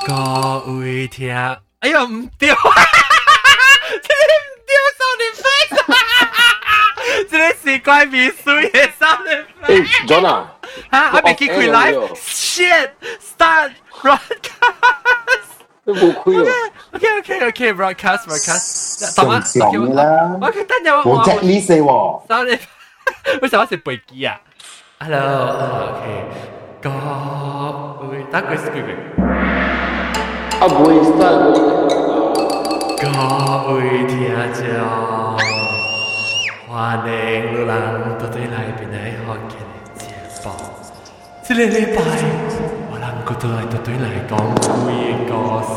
各位听，哎呀唔对，这里唔对，sound effect，这里是怪秘书嘅 sound effect。 John 啊， 哈，我未記佢 live，shit，start broadcast。 冇亏哦。 OK，broadcast。 正常嘅啦。 我等陣我 checklist 喎。 sound effect，為什麼是背機啊 ？Hello，OK，各位，等佢是句。 啊，唔會 start。 各位聽眾，歡迎你哋到對來邊嚟學嘅節目。這個禮拜，我諗佢都係到對嚟講鬼嘅故事。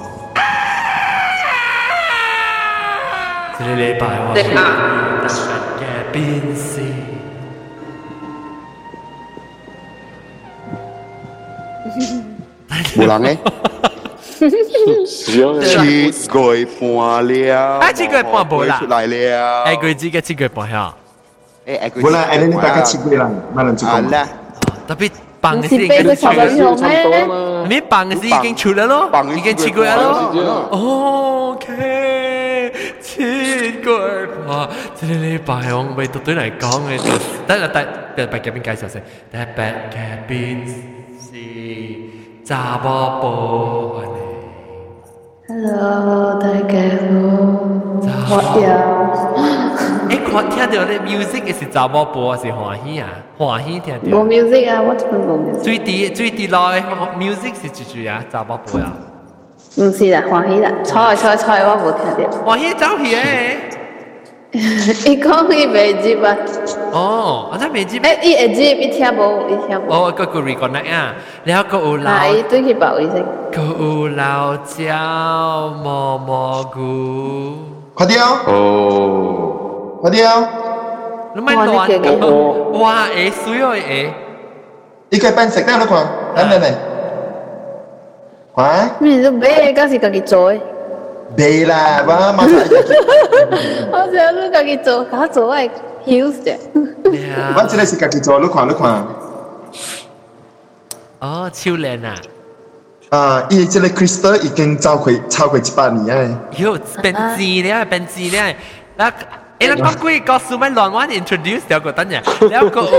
這個禮拜我係大嘅變士。 冇人嘅。七月半了， 七月半冇啦， 出來了。 佢自己七月半嚇。 冇啦，你大家七月啦，冇人做工。 特別辦嘅事已經出咗，咩辦嘅事已經出咗咯，已經7月咯。OK，7月半，這個禮拜我為到對嚟講嘅，等下第八嘉賓介紹先，第八嘉賓是查某婆。 Hello， 大家好，我有。 看聽到啲 music 嘅是查某婆是歡喜啊，歡喜聽到。 冇 music 啊，我真冇 music。 最低來 music 是住住啊，查某婆啊。 唔是啦，歡喜啦，猜，我冇聽到。 歡喜走去誒。 伊講伊未接啊。 哦，我真未接。 誒，伊會接，伊聽無。 哦，個 reconnect 啊，然後個有老。 係，對佢報醫生。 個有老椒蘑菇。 快啲啊！哦，快啲啊！ 你咪亂講。哇，誒水哦誒。 呢個笨食得你看，嚟。快！ 咩都買，嗰時家己做誒。 未啦，我馬上。 我想你家己做，家做係曉啫。 我真係是家己做，你看。 哦，超靚啊！ 伊這個 Crystal 已經超過100年啊！ 喲，變字咧，嗱，你講鬼故事咪亂玩 introduce 掉個等陣，然後個有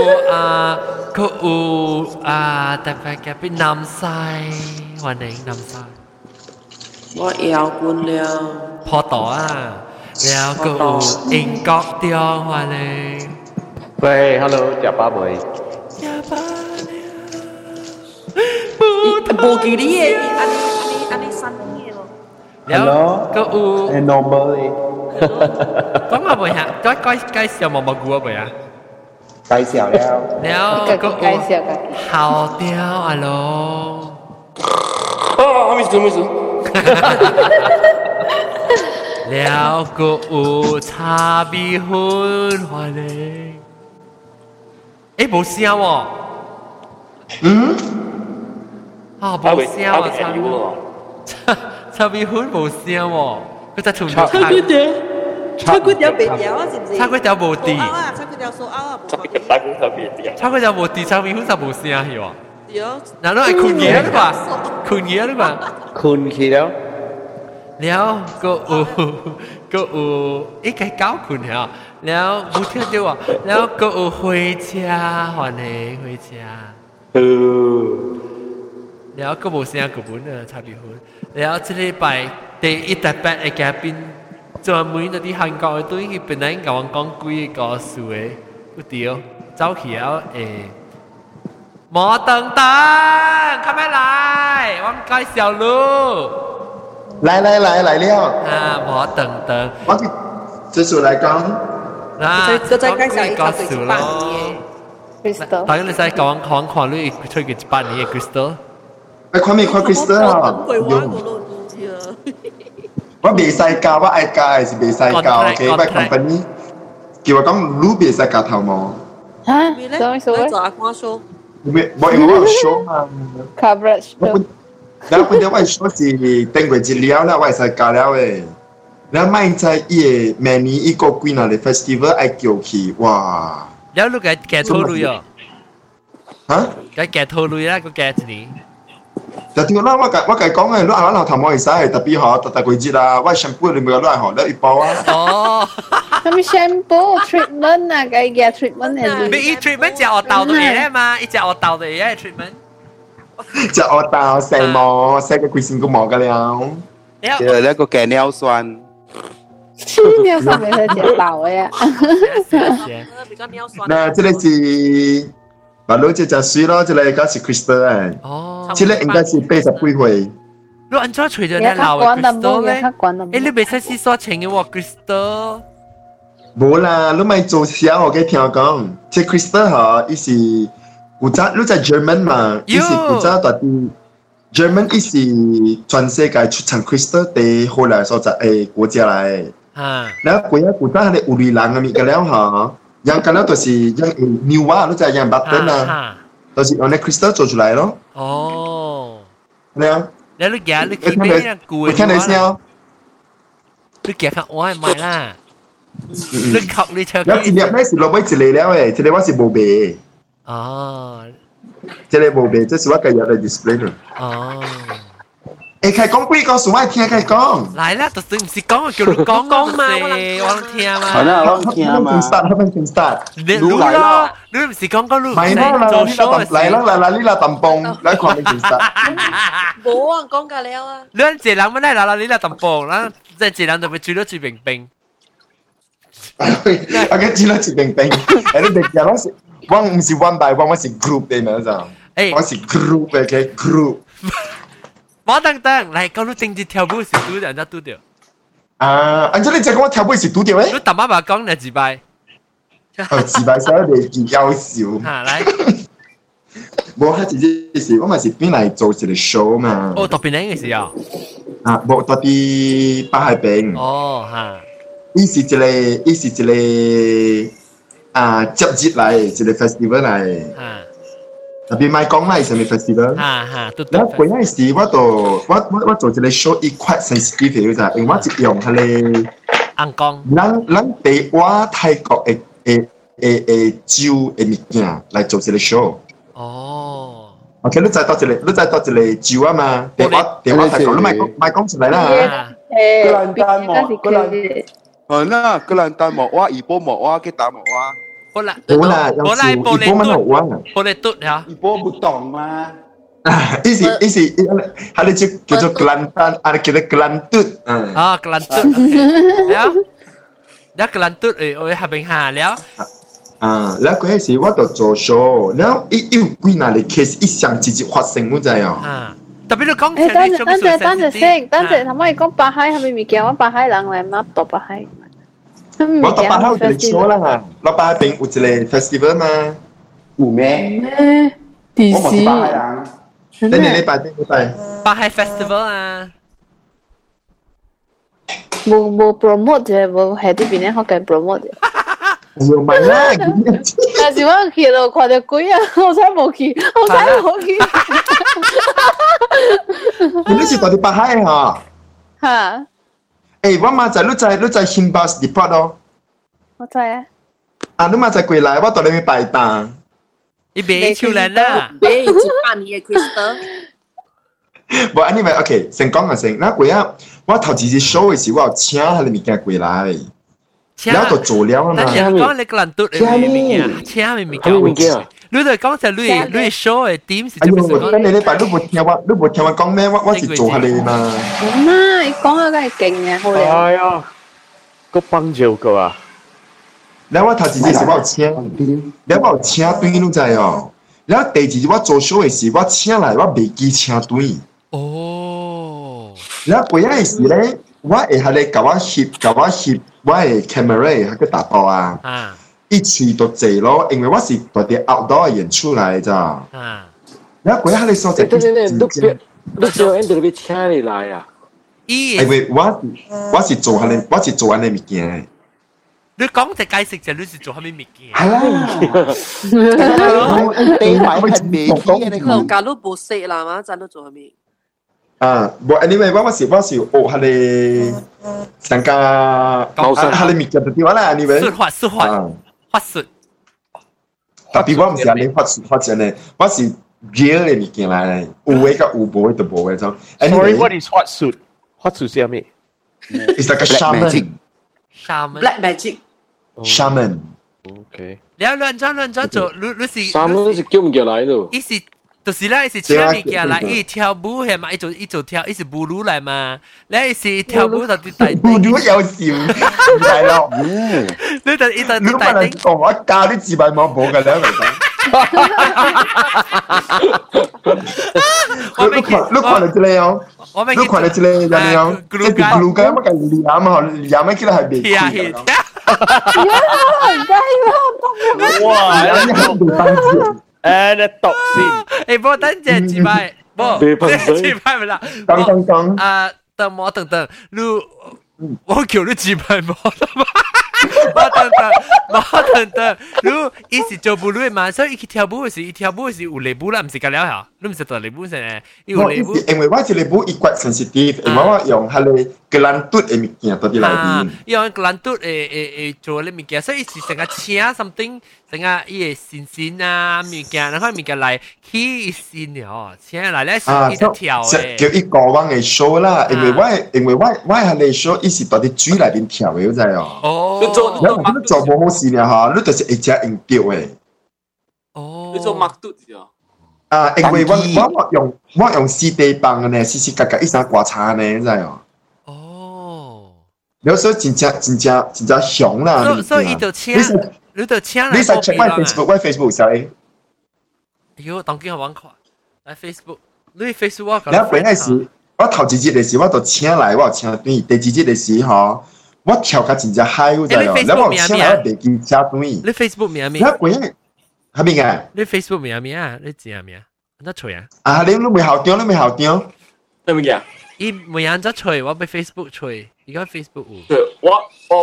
特別嘅邊南西，歡迎南西。 我搖滾了， 破島啊，然後個有英國調，歡迎。 喂 ，hello， 食飽未？ 冇記你嘅，安尼新嘅咯。 然後個有 normal 講下未啊？介紹毛毛菇啊未啊？ 介紹了。 然後個有好調啊咯。 沒事。 然後個有茶米粉，歡迎。誒，冇聲喎。冇聲喎，茶米粉冇聲喎，佢就從頭叉骨條別條啊，是唔是？ 叉骨條冇啲， 叉骨條數拗啊， 叉骨條冇啲，茶米粉就冇聲係喎。嗱，都係困嘢啦嘛，困去了。แล้วก็一個搞困了，แล้ว冇聽到啊，แล้วก็回家，歡迎回家。แล้วก็冇聲個本啊，差別好。แล้ว這禮拜第一特別嘅嘉賓，專門嗰啲韓國嘅對佢本來講鬼嘅故事嘅，嗰條走去了誒，莫等等，快啲嚟，我唔介紹咯。 來了。 啊，莫等等， 我繼續來講。 嗱， 再介紹一個最8年嘅 Crystal。 當然你使講你出嘅8年嘅 Crystal。 看 Crystal 啊！我未使教，我愛教還是未使教 ？OK， 我 company 叫我講，你未使教頭毛。 嚇？做做阿光說。 我有 show 嘛。 Coverage。 然後本來我 show 是登過資料啦，我會使教了誒。然後咪在伊個明年一個幾哪個 festival 愛叫去，哇！ แล้วลูกแกโทรลุยอ่ะฮะแกโทรลุยแล้วก็แกจะหนี就點啦？我講嘅，你啱啱頭冇會使，特別好，特貴節啦，我 shampoo 你咪攞嚟學，你一包啊。 哦， 咁 shampoo treatment 啊，嘅 treatment 係。 你 treatment 隻我豆到嘢嘛？一隻我豆到嘢 treatment。 隻我豆成毛，成個貴先個毛㗎了。 就那個雞尿酸。 尿酸咪係隻豆嘅。 比較尿酸。 嗱，這個是。把老姐就水咯，這個嗰是 Crystal 啊。 哦， 這個應該是80幾歲。 你安怎除咗你老嘅 Crystal 咧？誒，你未使試所請嘅喎 Crystal。 冇啦，你咪做小我嘅聽講，這 Crystal 嗬，伊是古早你在 German 嘛，伊是古早到啲 German 伊是全世界出產 Crystal 的後來所在誒國家嚟。啊。然後古早係你烏里蘭嘅物嘅了嗬。yang kalau tu si yang new ah, tu yang button lah. Tu si on crystal 做出來咯。 哦。 咩啊？ 你夾你見咩人攰？ 聽你先啊。 你夾下我係咪啦？你靠你唱。 有一粒咩是落尾一粒了誒，一粒我是冇賣。 哦。 一粒冇賣，這是我今日嚟 display 咯。 哦。 誒，佢講幾個數我聽佢講。 嚟啦，就是唔是講叫你講嘛，我聽嘛。 係啦，我聽嘛。 start。 你嚟啦，你唔是講你唔係做 show 嚟啦，你啦揼蹦，你講你 start。 冇啊，講㗎了啊。 你一人乜嚟啦？你啦揼蹦啦，即係一人就會煮到煮冰冰。 我嘅煮到煮冰冰，誒你哋講我唔是 one by one， 我是 group 嘅咪就，我是 group 嘅 group。 我等，嚟講你正節跳舞是拄人家拄掉。 啊，按照你講我跳舞是拄掉誒？ 你揼媽講你自敗。 自敗所以你幾搞笑。 嚇嚟。 冇，佢直接是我咪是邊嚟做一個 show 嘛。 哦，特別靚嘅時候。 啊，冇特別巴海餅。 哦，嚇。 伊是一個啊節日嚟，一個 festival 嚟。嚇。特別買講啦，係咩 festival？然後嗰陣時我做一個 show，伊quite sensitive 嘅咋，因為我係用佢哋硬講， 咱地話泰國嘅酒嘅物件嚟做一個 show。哦。OK，你再多一個酒啊嘛，地話泰國，你買講出嚟啦。 格蘭丹莫，那格蘭丹莫話，怡保莫話，吉打莫話。 好啦， 一波乜好玩啊？ 波嚟嘟呀！ 一波不懂嗎？ 意思，佢哋叫做格蘭丹，啊，叫做格蘭嘟。 啊，格蘭嘟，แล้ว格蘭嘟我係邊下แล้ว？ แล้ว嗰陣時我就做 show，然後有幾嗱嚟 case 一上直接發生，我知啊。 特別你講， 等陣先，頭先講巴海係咪物件？我巴海人嚟嘛，讀巴海。 我到巴海有一個 show 啦，我巴海邊有一個 festival 嘛。 有咩？ 我冇巴海人。 等你禮拜。 巴海 festival 啊。 冇 promote 啫，冇喺呢邊咧，我計 promote 啫。 又唔係啦， 但是我去到看到鬼啊，我真冇去。 你是到底巴海嚇？ 嚇！ 誒，我嘛在你在 Himbas Depot 咯。 我知啊。 啊，你嘛在過來，我到你咪拜檔。 你別超人啦！ 別一半年嘅 Crystal。 冇，anyway OK，先講下先。那過啊，我頭次 show 嘅時，我有請佢哋物件過來。然後就做了啊嘛。 但係講你個人都請咪物件。你就講就你 show 嘅點是點樣？ 等你禮拜你冇聽我講咩？我是做下你嘛。 媽，你講下梗係勁嘅，好靚。 係啊，個幫照個啊。 然後我頭次時我有請，然後我有請對你知哦。然後第二次我做 show 嘅時，我請來我未記請對。哦。然後嗰陣時咧，我會喺你教我翕。我係 camera 喺個大包啊，一去到濟咯，因為我是到啲 outdoor 演出嚟咋。然後嗰下你所在啲你只有人哋請你來啊？ 因為我是做下你物件。 你講就解釋就你是做下咩物件？ 係啦， 地買係美嘅你講。假如冇識啦嘛，真都做下咩？ 啊，冇 anyway，我是學下你上家下你物件就點啦 ，anyway。 法術。 特別我唔是下你法術呢，我是 real 嘅物件嚟，有嘅甲有無嘅就無嘅種。 Sorry, what is hot suit? Hot suit 係咩 It's like a shaman. Black magic. Shaman. ？OK， 你亂咗做，你是三蚊是叫唔叫來咯？ 伊是就是啦，伊是請物件來，伊跳舞係嘛，伊做跳，伊是舞女來嘛，你是跳舞就啲大舞女有笑，唔係咯。 你就伊就你啲大頂。 講我教啲字幕冇嘅咧，你看到這裡哦，你看到這裡有沒有？這是 blue 嘅，乜嘅染啊？染咩叫係未？ 係係。 哇！你讀先。 誒，不等陣自拍，不，自拍唔啦。 講。 等我等，你我叫你自拍冇啦嘛？我等，你伊是做舞女嘛，所以伊去跳舞時，伊跳舞時有禮舞啦，唔是㗎了嚇，你唔是做禮舞先誒，有禮舞。 因為我這禮舞伊骨 sensitive，因為我用下嚟格蘭嘟嘅物件到啲內邊。 用格蘭嘟做啲物件，所以是成個請 something，成個伊嘅線啊物件，然後物件來起線哦，請來咧是伊得跳嘅。 叫伊過往嘅 show 啦，因為我下嚟 show，伊是到啲水內邊跳嘅，知哦。 哦。 你做冇好事啦嚇，你就是會只用掉嘅。 哦。 你做麥嘟啫。 因為我用四地棒嘅呢，時時格格一生刮擦呢，知哦。 哦。 有時候真正熊啦。 所以伊就請，你就請來。 你使 check 我 Facebook 使。 喲，當今我玩看，來 Facebook，你 Facebook 我。 你本來是，我頭一日嘅時，我就請來，我請對，第二日嘅時嗬。我跳甲真正嗨，有知哦。你我請來我袂記車對。 你 Facebook 名？ 你本來係咪嘅？ 你 Facebook 名啊？你字名？得吹啊？ 你未校長，你未校長？ 係咪嘅？ 伊每人得吹，我俾 Facebook 吹，而家 Facebook 有。 我。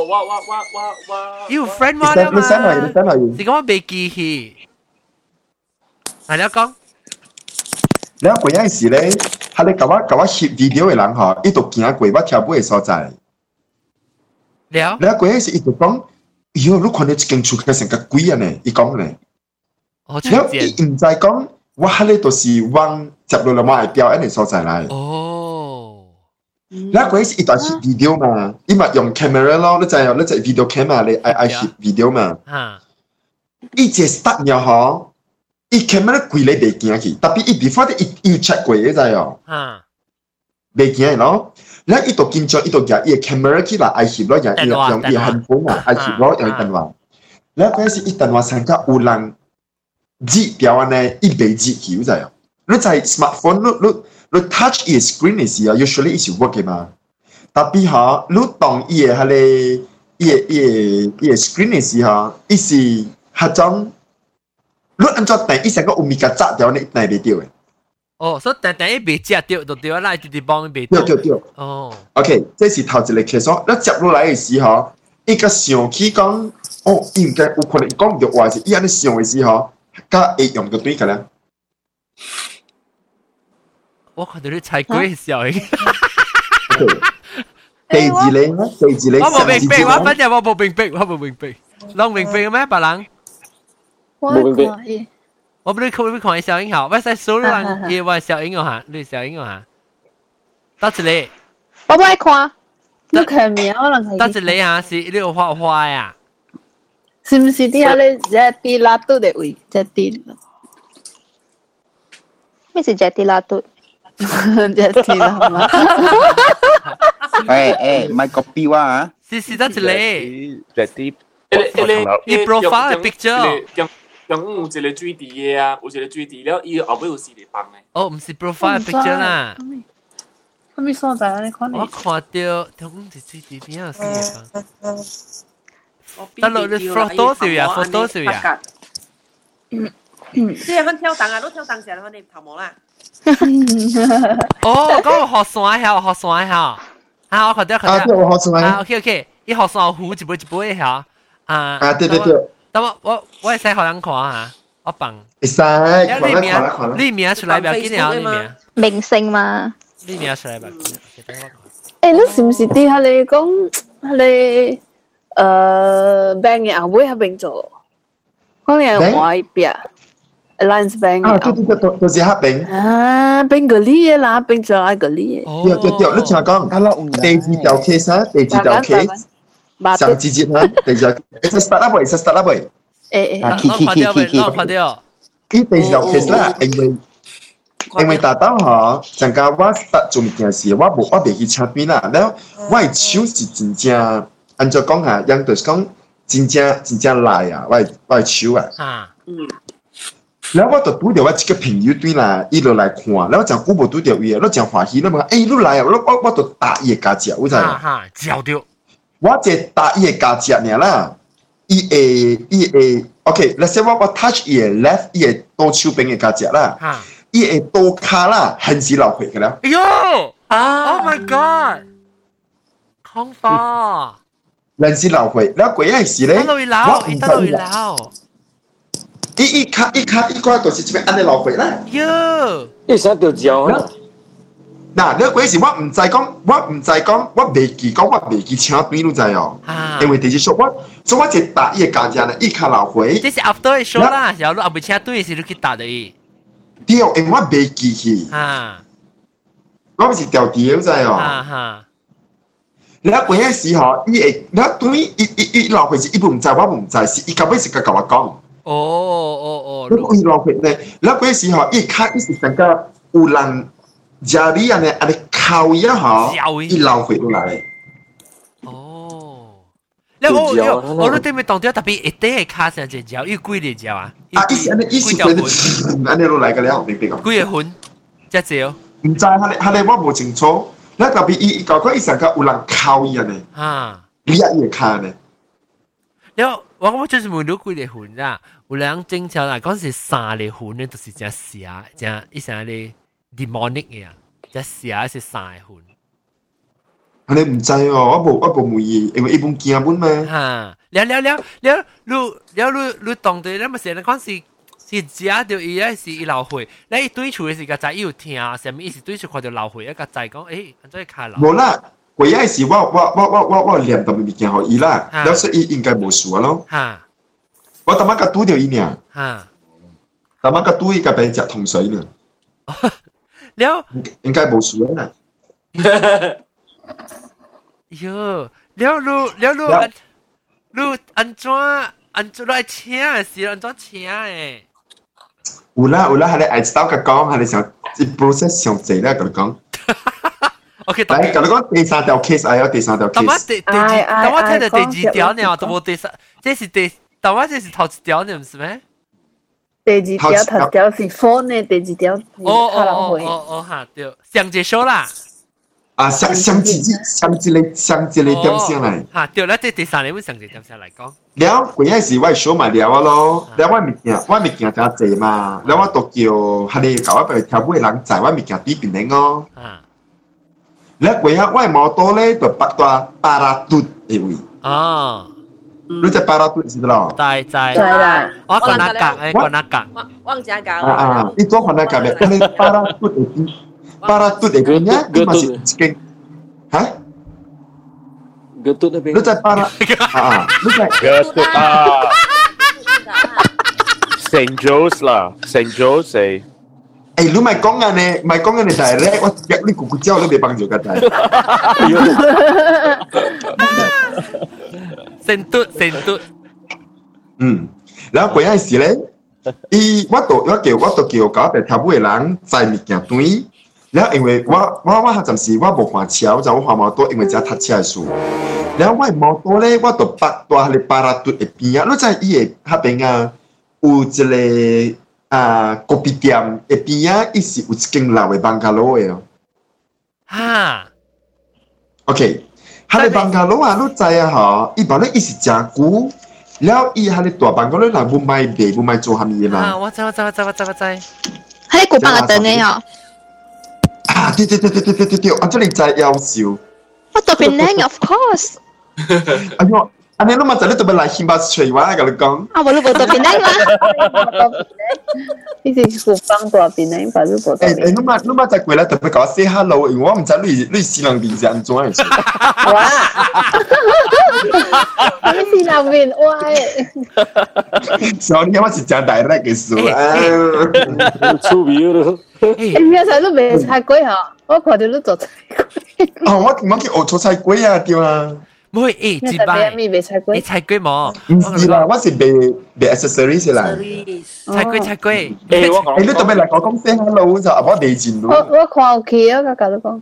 要 friend 我啦嘛？是講我未記起。係你講。 你嗰陣時咧，係你甲我翕 video 嘅人嗬，伊度行過我跳舞嘅所在。你嗰陣時伊就講，喲，你看到一間厝嘅成個鬼啊呢？伊講咧。然後伊唔知講，我喺呢度是往接落嚟我係表演嘅所在嚟。 哦。 你嗰陣時伊就翕 video 嘛，伊咪用 camera 咯，你就 video camera 你愛翕 video 嘛。伊只 start 咗嗬。伊 camera 貴你袂驚去，特別伊 before 伊 check 過嘅知哦，袂驚咯。然後伊度緊張，伊度夾伊嘅 camera 起來愛翕咯，用伊handphone啊，愛翕咯，用電話。然後嗰陣時伊電話上加有人指條安尼，伊袂指去，知哦。你在 smartphone 你 touch 伊嘅 screen 嘅時候 ，usually 伊是 work 嘅嘛。特別嚇，你當伊嘅係咧，伊嘅 screen 嘅時候，伊是迄種。你按照第一成個有物件砸掉，你一定袂掉嘅。 哦，所以第一被砸掉就掉啦，直直幫被掉。 哦。 OK， 這是頭一個 case。你接落來嘅時候，伊個想起講，哦，伊唔該有可能講唔到話是，伊安尼想嘅時候，甲會用到對嘅咧。 我看到你猜鬼笑嘅。 第二咧，我冇明白，我反正我冇明白，攏明白嘅咩，別人？我不是看小英好，我在手上也玩小英哈，你小英哈，到這裡， 我不愛看，你看面我能睇。 到這裡哈是你有畫畫呀？ 是唔是啲下咧？Jetty 拉嘟嘅位，Jetty。咩是 Jetty 拉嘟？Jetty 啦嘛。 唔係 copy 我啊。 是到這裡。 Jetty。 你 profile picture。 有一個水池嘅啊，有一個水池了，伊後尾有四個幫嘅。 哦，唔是 profile picture 啦。 咁咪所在你看。 我看到同一水池邊有四個幫。得落你 photo 少呀，photo 少呀。 即係佢跳檔啊，都跳檔時候，你頭毛啦。 哦，嗰個學山嚇，啊，我看到。OK，伊學山湖一杯嚇。對。但我會使學人看下，我放。 會使。 你名出來不要緊啊，你名。 明星嘛。 你名出來不要緊。 你是唔是啲下你講你病嘅後尾喺邊做？講你係外邊， Alliance Bank 啊，對，就是黑餅。 啊，邊個呢啦？邊就係個呢？ 對，你聽我講，第二條 case 啊，第二條 case，上節節啊，第二條 ，start up 喂，start up 喂。 攞拍掉。 呢第二條 case 啦，因為大刀嗬，陣間我 start 做件事，我未去車邊啦，然後我嘅手是真正，按照講下，人就是講真正賴啊，我嘅手啊。然後我就拄到我一個朋友對啦，伊就來看，然後真久無拄到伊，我真歡喜，我問你來啊，我就打伊個家姐，有知無？ 照到。 我只打伊個家姐爾啦，伊會 ，OK，let's say 我 touch 伊個 left， 伊個倒手邊個家姐啦，伊個倒骹啦，很是流血嘅啦。 哎呦！Oh my god！空化。 很是流血，然後嗰陣時咧， 我唔知啦。 伊個就是這邊安尼流血啦。 喲， 你想掉腳啊？ 嗱，你嗰時我唔知講，我未記講，我未記請邊路仔哦。因為第一說所以我就打伊個家姐咧，伊卡流血。 這是 after 嘅 show 啦，然後你後尾請對時你去打的。 對，因為我未記去。我唔是掉掉仔哦。然後嗰陣時候，伊會，然後對伊流血是伊唔知，我唔知，是伊後尾是甲我講。伊流血咧，然後嗰陣時候，伊卡伊是成個有人家裡安尼敲一下，伊流血落來。 我都對面當掉特別一啲嘅卡上隻腳，要貴啲腳啊！ 伊是安尼，伊是安尼落來個了，明白講？ 貴嘅款，隻腳。唔知，下嚟我冇清楚。那特別伊搞個伊成個有人敲伊安尼，你也會卡呢？ 了，我就是問到幾個款啦，有人正常嚟講是三個款咧，就是只蛇，只一成咧 demonic 嘅啊，只蛇是三個款。 你唔知哦，我冇問伊，因為伊本驚本嘛。 你當對咧，咪成日講是食到伊咧是伊流血，你對厝嘅時個仔要聽，什麼意思？對厝看到流血一個仔講，誒，安怎卡流？ 冇啦，嗰一時我念到物件互伊啦，了所以伊應該冇事咯。我頭晚個拄到伊呢，頭晚個拄伊個病食糖水呢。 了， 應該冇事啦。 喲，你安怎來請啊？是安怎請誒？ 有啦，係你愛知道佢講，係你想一 process 上濟咧，佢講。 OK， 嚟，佢講第三條 case，哎呀，第三條 case。 但我聽到第二條呢，都冇第三，但我這是頭一條呢，唔是咩？ 第二條頭條是 phone 呢，第二條嚇，對，上一首啦。 啊，上一個點上嚟。 嚇，對啦，第三個上一個點上嚟講。 了，嗰陣時我係數埋了啊咯，了我物件真濟嘛，了我都叫佢哋搞一輩跳舞嘅人載我物件對邊領哦。了嗰下我係摩托咧就八大巴拉嘟嘅位。你知巴拉嘟是咯？ 知啦，我講那格， 忘記講。 你做翻那格咩？你巴拉嘟嘅邊？巴拉嘟嘅邊呀？你咪是一間嚇 ？Getut na Lu cai para lu cai Getut St. Joe's lah St. Joe's lu mai kong ne direct 我約你咕咕叫都別幫助個仔成嘟然後嗰陣時咧我都叫搞地跳舞嘅人載物件對然後因為我暫時我冇看車，就我看摩托，因為只搭車嘅數。然後我摩托咧，我就八大喺巴拉嘟嘅邊啊，你知伊嘅嗰邊啊，有一個咖啡店嘅邊啊，伊是有一間老嘅邦加樓嘅哦。 哈 ，OK，嗰個邦加樓啊，你知啊嗬？伊話咧，伊是真久，然後伊嗰個大邦加樓人唔買地，唔買做蝦米嘛。 我知。 喺古巴嘅等你哦。 對，按照你真優秀。 我特別靚 ，of course。 哎呦， 安尼，你嘛知你特别来新巴吹我甲你讲。 啊，无你无做邊呢嘛？ 呢是古方大邊呢，把你無做邊。 你嘛在過來特別甲我 say hello，因為我唔知你西人面是安怎樣。 哇！你西人面歪。 所以你我是真大叻嘅事啊。 出名咯。 你有時都未菜粿嗬？我看到你做菜粿。 哦，我去學做菜粿啊，對啊。 唔會自擺，你菜粿冇？ 唔是啦，我是賣 accessories 啦。 菜粿。 你特別嚟講 say hello 就我地錢咯。 我看有去啊，我甲你講。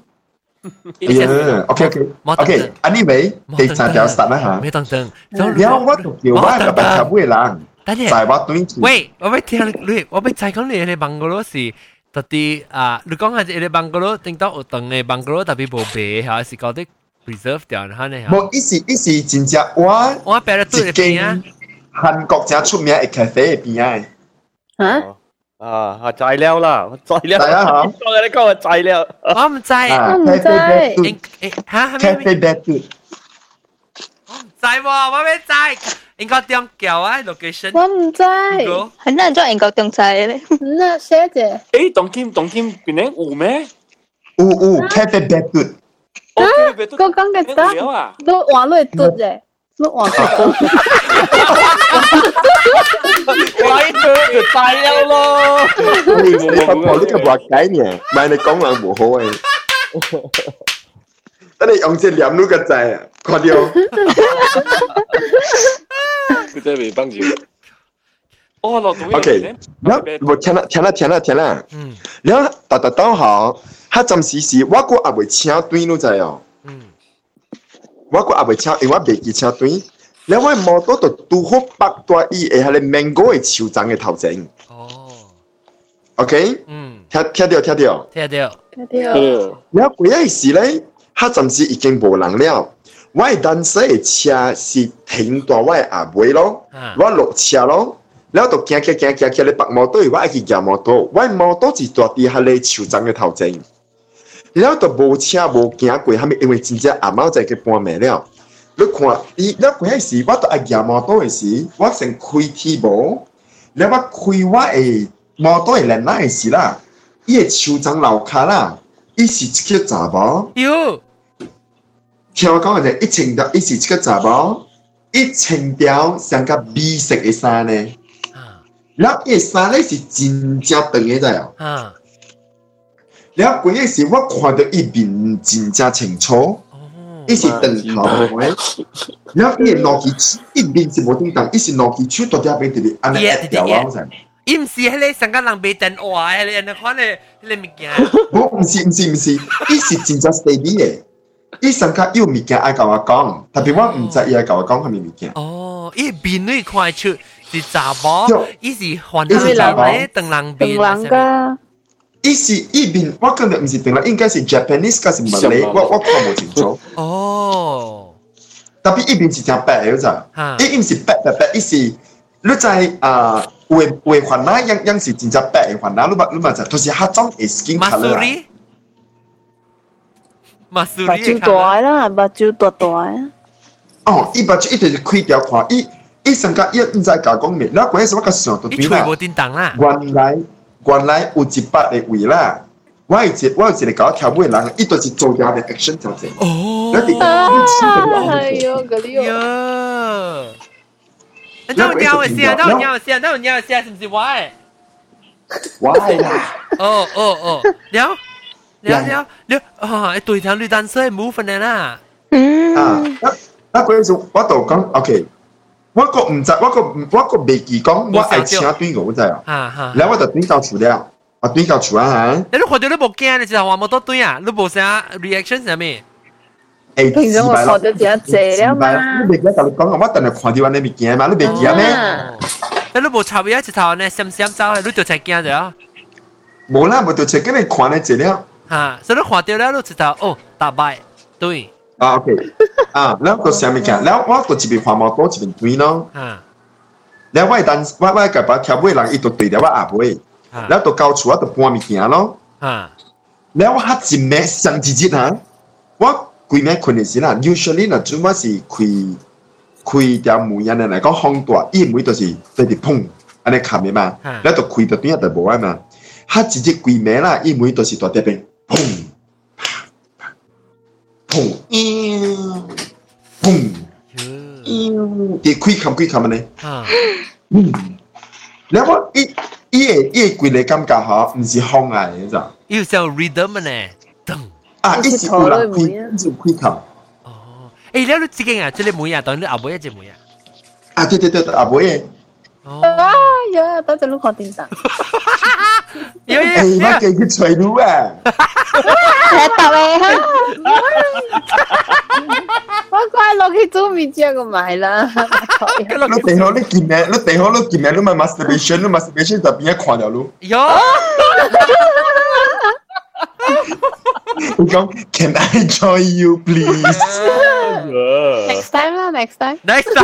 OK， anyway， 第三條 start 啦嚇。 沒等。 然後我就叫我個白茶杯人，在我對住。 喂，我要聽你，我要再講你嘅邦哥羅是。特啲你講下啲邦哥羅，頂到有長嘅邦哥羅特別無白嚇，是搞啲 preserve 掉嚇呢嚇。 冇，一時真正我擺喺對邊啊。 韓國正出名嘅咖啡邊啊？ 啊，材料啦，材料。 係啊嚇。 你講嘅材料。 我唔知。 咖啡bedroom。 我唔知喎，我未知。應該點叫啊 location？ 我唔知。 很難做英國中菜咧。 那寫者。 誒，當天邊咧有咩？ 有咖啡 bedroom。 我講嘅得，都換落嘟啫，都換嘟。 鬼嘟就材料咯。 你發覺呢個話解呢？唔係你講話唔好誒。等你用隻念呢個掣啊，看到。 佢真係未幫住。 哦，落到 OK， 然後我聽啦。然後到好，他暫時是我個也未請對你知哦。我個也未請，因為我未記請對。然後我摩托就拄好北大伊嘅係你 mango 嘅樹種嘅頭前。 哦。 OK。聽到。然後嗰一時咧，他暫時已經無人了。我係當時嘅車是停在我嘅阿妹咯，我落車咯，然後就行你白摩托，我愛去騎摩托，我摩托是坐喺喺你樹棧嘅頭前，然後就無車無行過，後面因為真正阿貓仔嘅半暝了，你看，你嗰時我就愛騎摩托嘅時，我先開鐵無，然後我開我嘅摩托嘅輪胎嘅時啦，伊嘅樹棧樓下啦，伊是一個查某。聽我講嘅就一穿條，伊是一個查某，一穿條像個米色嘅衫呢。然後伊個衫咧是真正長嘅在哦。然後嗰陣時我看到伊面真正清楚，伊是長頭嘅。然後伊個攞起伊面是無叮當，伊是攞起手到底邊啲安尼一條啊！ 伊唔是迄個上個人賣電話嘅，你看你物件。 我唔是，伊是真正 steady 嘅。伊上卡有物件愛甲我講，特別我唔知伊愛甲我講係咪物件。 哦，伊面你看出是查某，伊是換人咧，鄧人面。 鄧人噶。 伊是伊面，我覺得唔是鄧人，應該是 Japanese 還是 Malay，我看唔清楚。 哦。 特別伊面是正白嘅咋，伊唔是白，伊是你在畫環啦，樣是真正白嘅環啦，你嘛就，就是迄種嘅 skin color。 目睭大啦，目睭大啊！ 哦，伊目睭一直是開條看，伊上個伊唔知甲講咩，然後嗰陣時我甲想到邊啦。 伊喙無叮當啦。 原來有一百個位啦，我有一個搞跳舞嘅人，伊就是做啲嘅 action 就係。 哦。 哎呦，嗰啲喲。等有鳥先，是唔是我誒？ 我係啦。 哦，了。對條綠單車冇分嘅啦。 嗰陣時我就講 OK， 我個唔知，我個未記講，我愛請對我知啊。然後我就對到厝了，我對到厝啊嚇。 你看到你冇驚，你就話冇多對啊，你冇啥 reaction 係咩？ 平常我看到只謝了嘛。 你未記得你講，我等下看到安尼物件嘛，你未記咩？ 你冇插一頭呢，閃走，你就才驚咗。 冇啦，冇就才跟你看你資料。 所以你看到了，你知道哦，大敗對。 OK，然後個啥物件？然後我個一邊看摩托一邊對咯。然後我個把跳舞人伊就對了我阿妹，然後就到厝我就搬物件咯。然後我一暝上一日我規暝困嘅時啦 ，usually 嗱，主要是開開條門人嚟講風大，伊門就是對住砰，安尼冚嘅嘛，然後就開到邊就無啊嘛，佢直接規暝啦，伊門就是大啲邊砰，砰，砰，啲開冚咧，然後伊嘅規個感覺嚇，唔是風嚟嘅咋， 伊有像 rhythm 呢， 啊，伊是有人開，就開冚。 誒，你自己啊，即係妹啊，當你阿妹一隻妹啊。 啊，對，阿妹。 啊呀，等陣碌看電視。 誒，我記佢吹嚕啊。 睇到未哈？ 我快落去做面醬個買啦。 你地好你見咩？你咪 masturbation 就變一看咗嚕。 喲。 我講 Can I join you please？ Next time 啦 ，next time。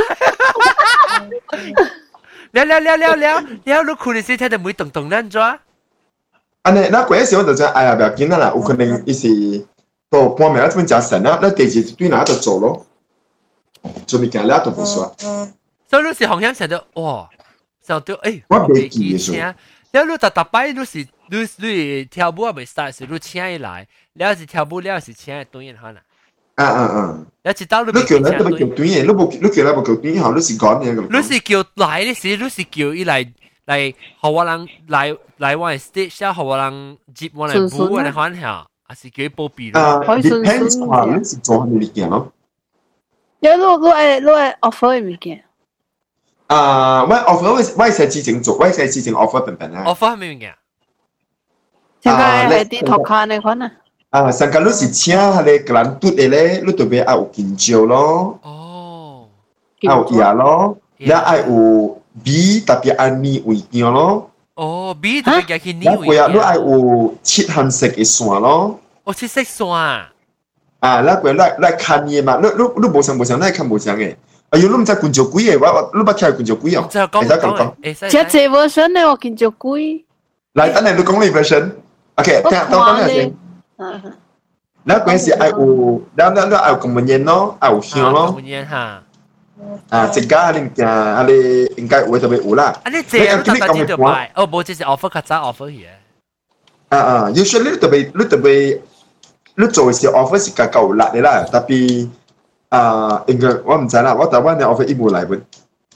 了，你看你先睇到每動動นั่น咗。 安尼，那嗰陣時我就講，哎呀，不要緊啦，有可能伊是到半暝這邊食神啦，那第二對哪就做咯，做物件了都唔算。 所以你是好像成到哇，成到誒， 我未記嘅數。 了你逐擺你跳舞未 start 時，你請伊來，了是跳舞了是請伊對應可能。了一道你叫咱都叫短嘢，你叫咱無叫短後，你是講嘢咁。 你是叫來的時，你是叫伊來，互我人來我嘅 stage，然後互我人接我嚟舞我嚟歡笑，還是叫伊保庇咯。 depends 話你是做咩物件咯？ 有你愛 offer 嘅物件。 我 offer 我係之前做，我係之前 offer 笨笨啊。 offer 係咩物件？ 現在係啲托卡呢款啊。 上個你是請下咧個人嘟嘅咧，你特別愛有金蕉咯，愛有椰咯，然後愛有米特別愛米味醬咯。 米特別加去米味醬。 你愛有切紅色嘅線咯。 切色線啊！ 那個來看嘢嘛，你無相，你看無相嘅。哎呦，你唔知金蕉貴嘅，你捌聽金蕉貴哦？ 會得講。 只隻 version 咧，我金蕉貴。 來，等下你講你 version。OK， 等下先。那嗰陣時愛有，然後愛有公文煙咯，愛有香咯。 公文煙嚇。 一家你見，你應該會特別有啦。 你這樣你特別就買，冇這是 offer 較早 offer 嘅。 usually 你特別，你做嘅時 offer 是較夠辣嘅啦，特別應該我唔知啦，我台灣嘅 offer 一冇嚟本。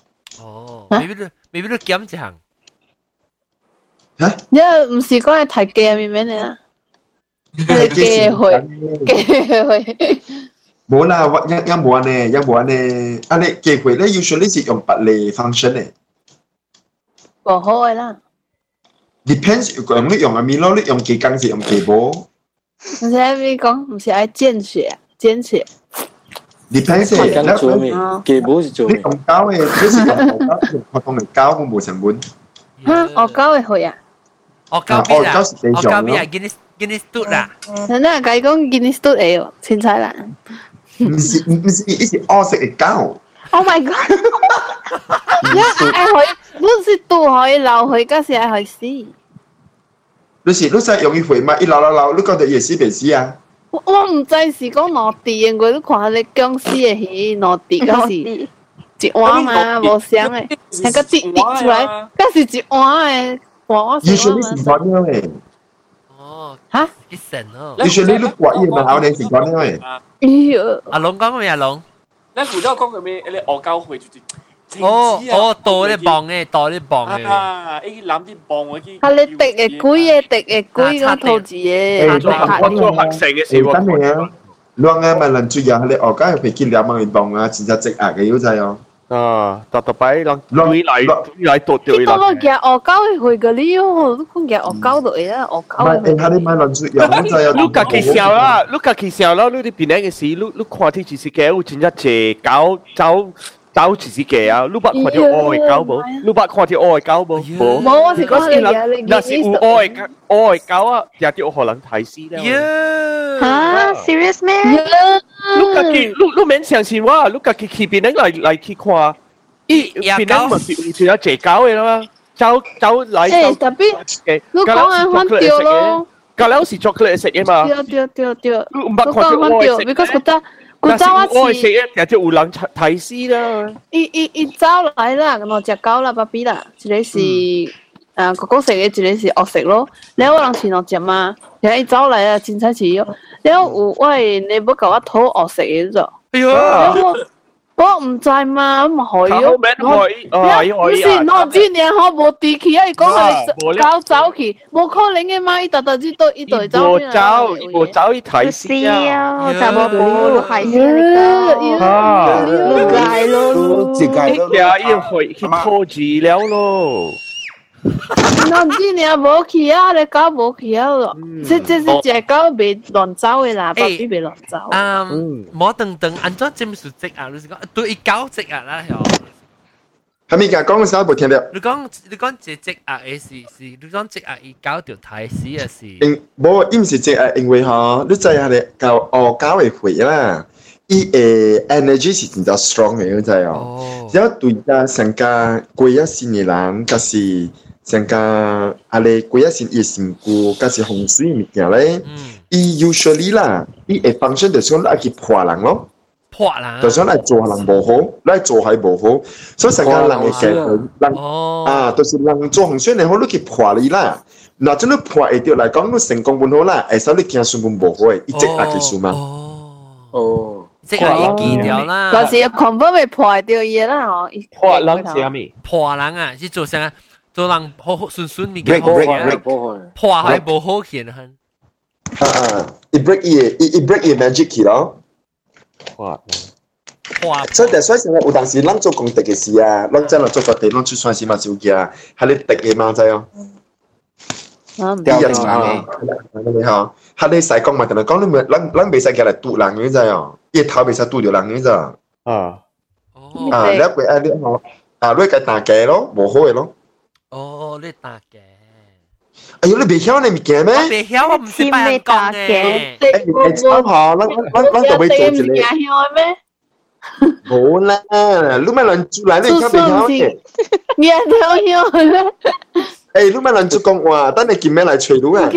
未必你減一行。 因為唔是講係太貴嘅咩嚟啊？係寄去。 冇啦，一冇安尼，安尼寄回咧，usually 是用白嚟 function 嘅。 唔好嘅啦。 depends 你用阿咪咯，你用幾工是用幾波？ 唔是你講，唔是愛見血。 depends 幾波是做咩？ 你用膠嘅，你是用普通嘅膠，我冇成本。 嚇，我膠嘅去啊！ 我膠邊啊！Guinness 嘟啦！ 人哋係講 Guinness 嘟嚟喎，凊彩啦。 唔是，伊是黑色嘅膠。 Oh my god！愛去，你是嘟可以流去，嗰時愛去死。 你使用伊回嘛？伊流，你覺得嘢死未死啊？ 我唔知是講落地嘅，我都看下你僵屍嘅戲落地嗰時一碗嘛，無聲嘅，係個滴出來，嗰時一碗嘅。 usually 是咁樣嘅。 嚇？ 幾神哦 ！usually 你掛嘢嘛，我哋是咁樣嘅。 阿龍講咩？阿龍？ 你古早講嘅咩？你惡交會就是。 多啲磅嘅。 依攬啲磅嗰啲。 係你滴嘅龜嗰套字嘅。 我做學成嘅時真係啊！兩個咪能做嘢，你惡交係譬如2萬磅啊，真係積壓嘅要滯哦。 特擺人對嚟多對嚟。 你講我夾惡交去嘅呢？我都講夾惡交對啦，惡交。 唔係，睇你買能做嘢，就有。 你家己笑啦，你啲邊個嘅事，你看啲電視劇，有真係借走電視劇啊！你捌看條愛狗冇？你捌看條愛狗冇？ 冇，我是講你嘅， 那是有愛狗啊，有啲可能睇死啦。 嚇 ，serious 咩？ 你家己，你免相信我，你家己去邊個嚟去看？邊個咪是有借狗嘅啦？走嚟誒，特別你講緊翻掉咯。 隔離是 chocolate 食嘅嘛？ 掉。 你唔捌看條愛食咩？ because 古早我食一隻有人睇死啦。 伊走來啦，兩隻狗啦，爸比啦，一個是哥哥食嘅，一個是惡食咯。然後我人飼兩隻嘛，然後伊走來啦，真彩似喲。然後有喂，你唔甲我討惡食嘅啫。 哎呦！ 我唔知嘛，唔可以咯。唔是我之年我無地去啊！伊講佢走去，無可能嘅嘛！伊特知道伊度走。 無走，伊睇死啊！就冇補係先解咯，自解咯。 呀，要去拖治療咯。 我之年無去啊，你狗無去啊咯。即隻狗未亂走嘅啦，爸比未亂走。 冇等，安怎佔數隻啊？你講對狗隻啊啦， 係咪講嘅時候冇聽到？ 你講隻隻啊嘅事，你講隻啊伊狗條太死嘅事。 冇，唔是隻啊，因為嗬，你知係你狗嘅血啦。伊誒 energy 是真正 strong 嘅，你知哦。只要對家成家過一線嘅人，嗰時成家啊你過一線嘅身軀，嗰時洪水物件咧，伊 usually 啦，伊會 function 就想嚟去破人咯， 破人， 就想嚟做人無好，嚟做係無好，所以成家人嘅結論，人啊，就是人做洪水你好，你去破你啦。嗱，真你破會掉嚟講，你成功本好啦，會使你驚算本無好嘅，一直嚟去數嘛。 哦。即係伊見掉啦， 嗰時 confirm 會破掉嘢啦，嗬。 破人係咩？ 破人啊，是做啥？做人好順物件好嘅，破係無好見很。 伊 break 伊 break 伊 magic 去咯。 破。 所以所以成日有當時，咱做功德嘅事啊，咱真係做個地，咱出算是嘛少嘅啊，係你敵嘅嘛，知哦。啲人啊，你好，係你使講嘛？同你講，你咱未使叫嚟堵人嘅知哦。伊頭未使拄着人嘅咋？你佢啊，你好啊，你個打機咯，無好嘅咯。 哦，你打機。 哎呦，你未曉你物件咩？ 我未曉，我唔識扮人講嘅。 啱下，咱就未做一個。冇啦，你咪亂做嚟，你而家未曉嘅。 你係曉咧？ 誒，你咪亂做講話，等你見咩嚟吹到啊？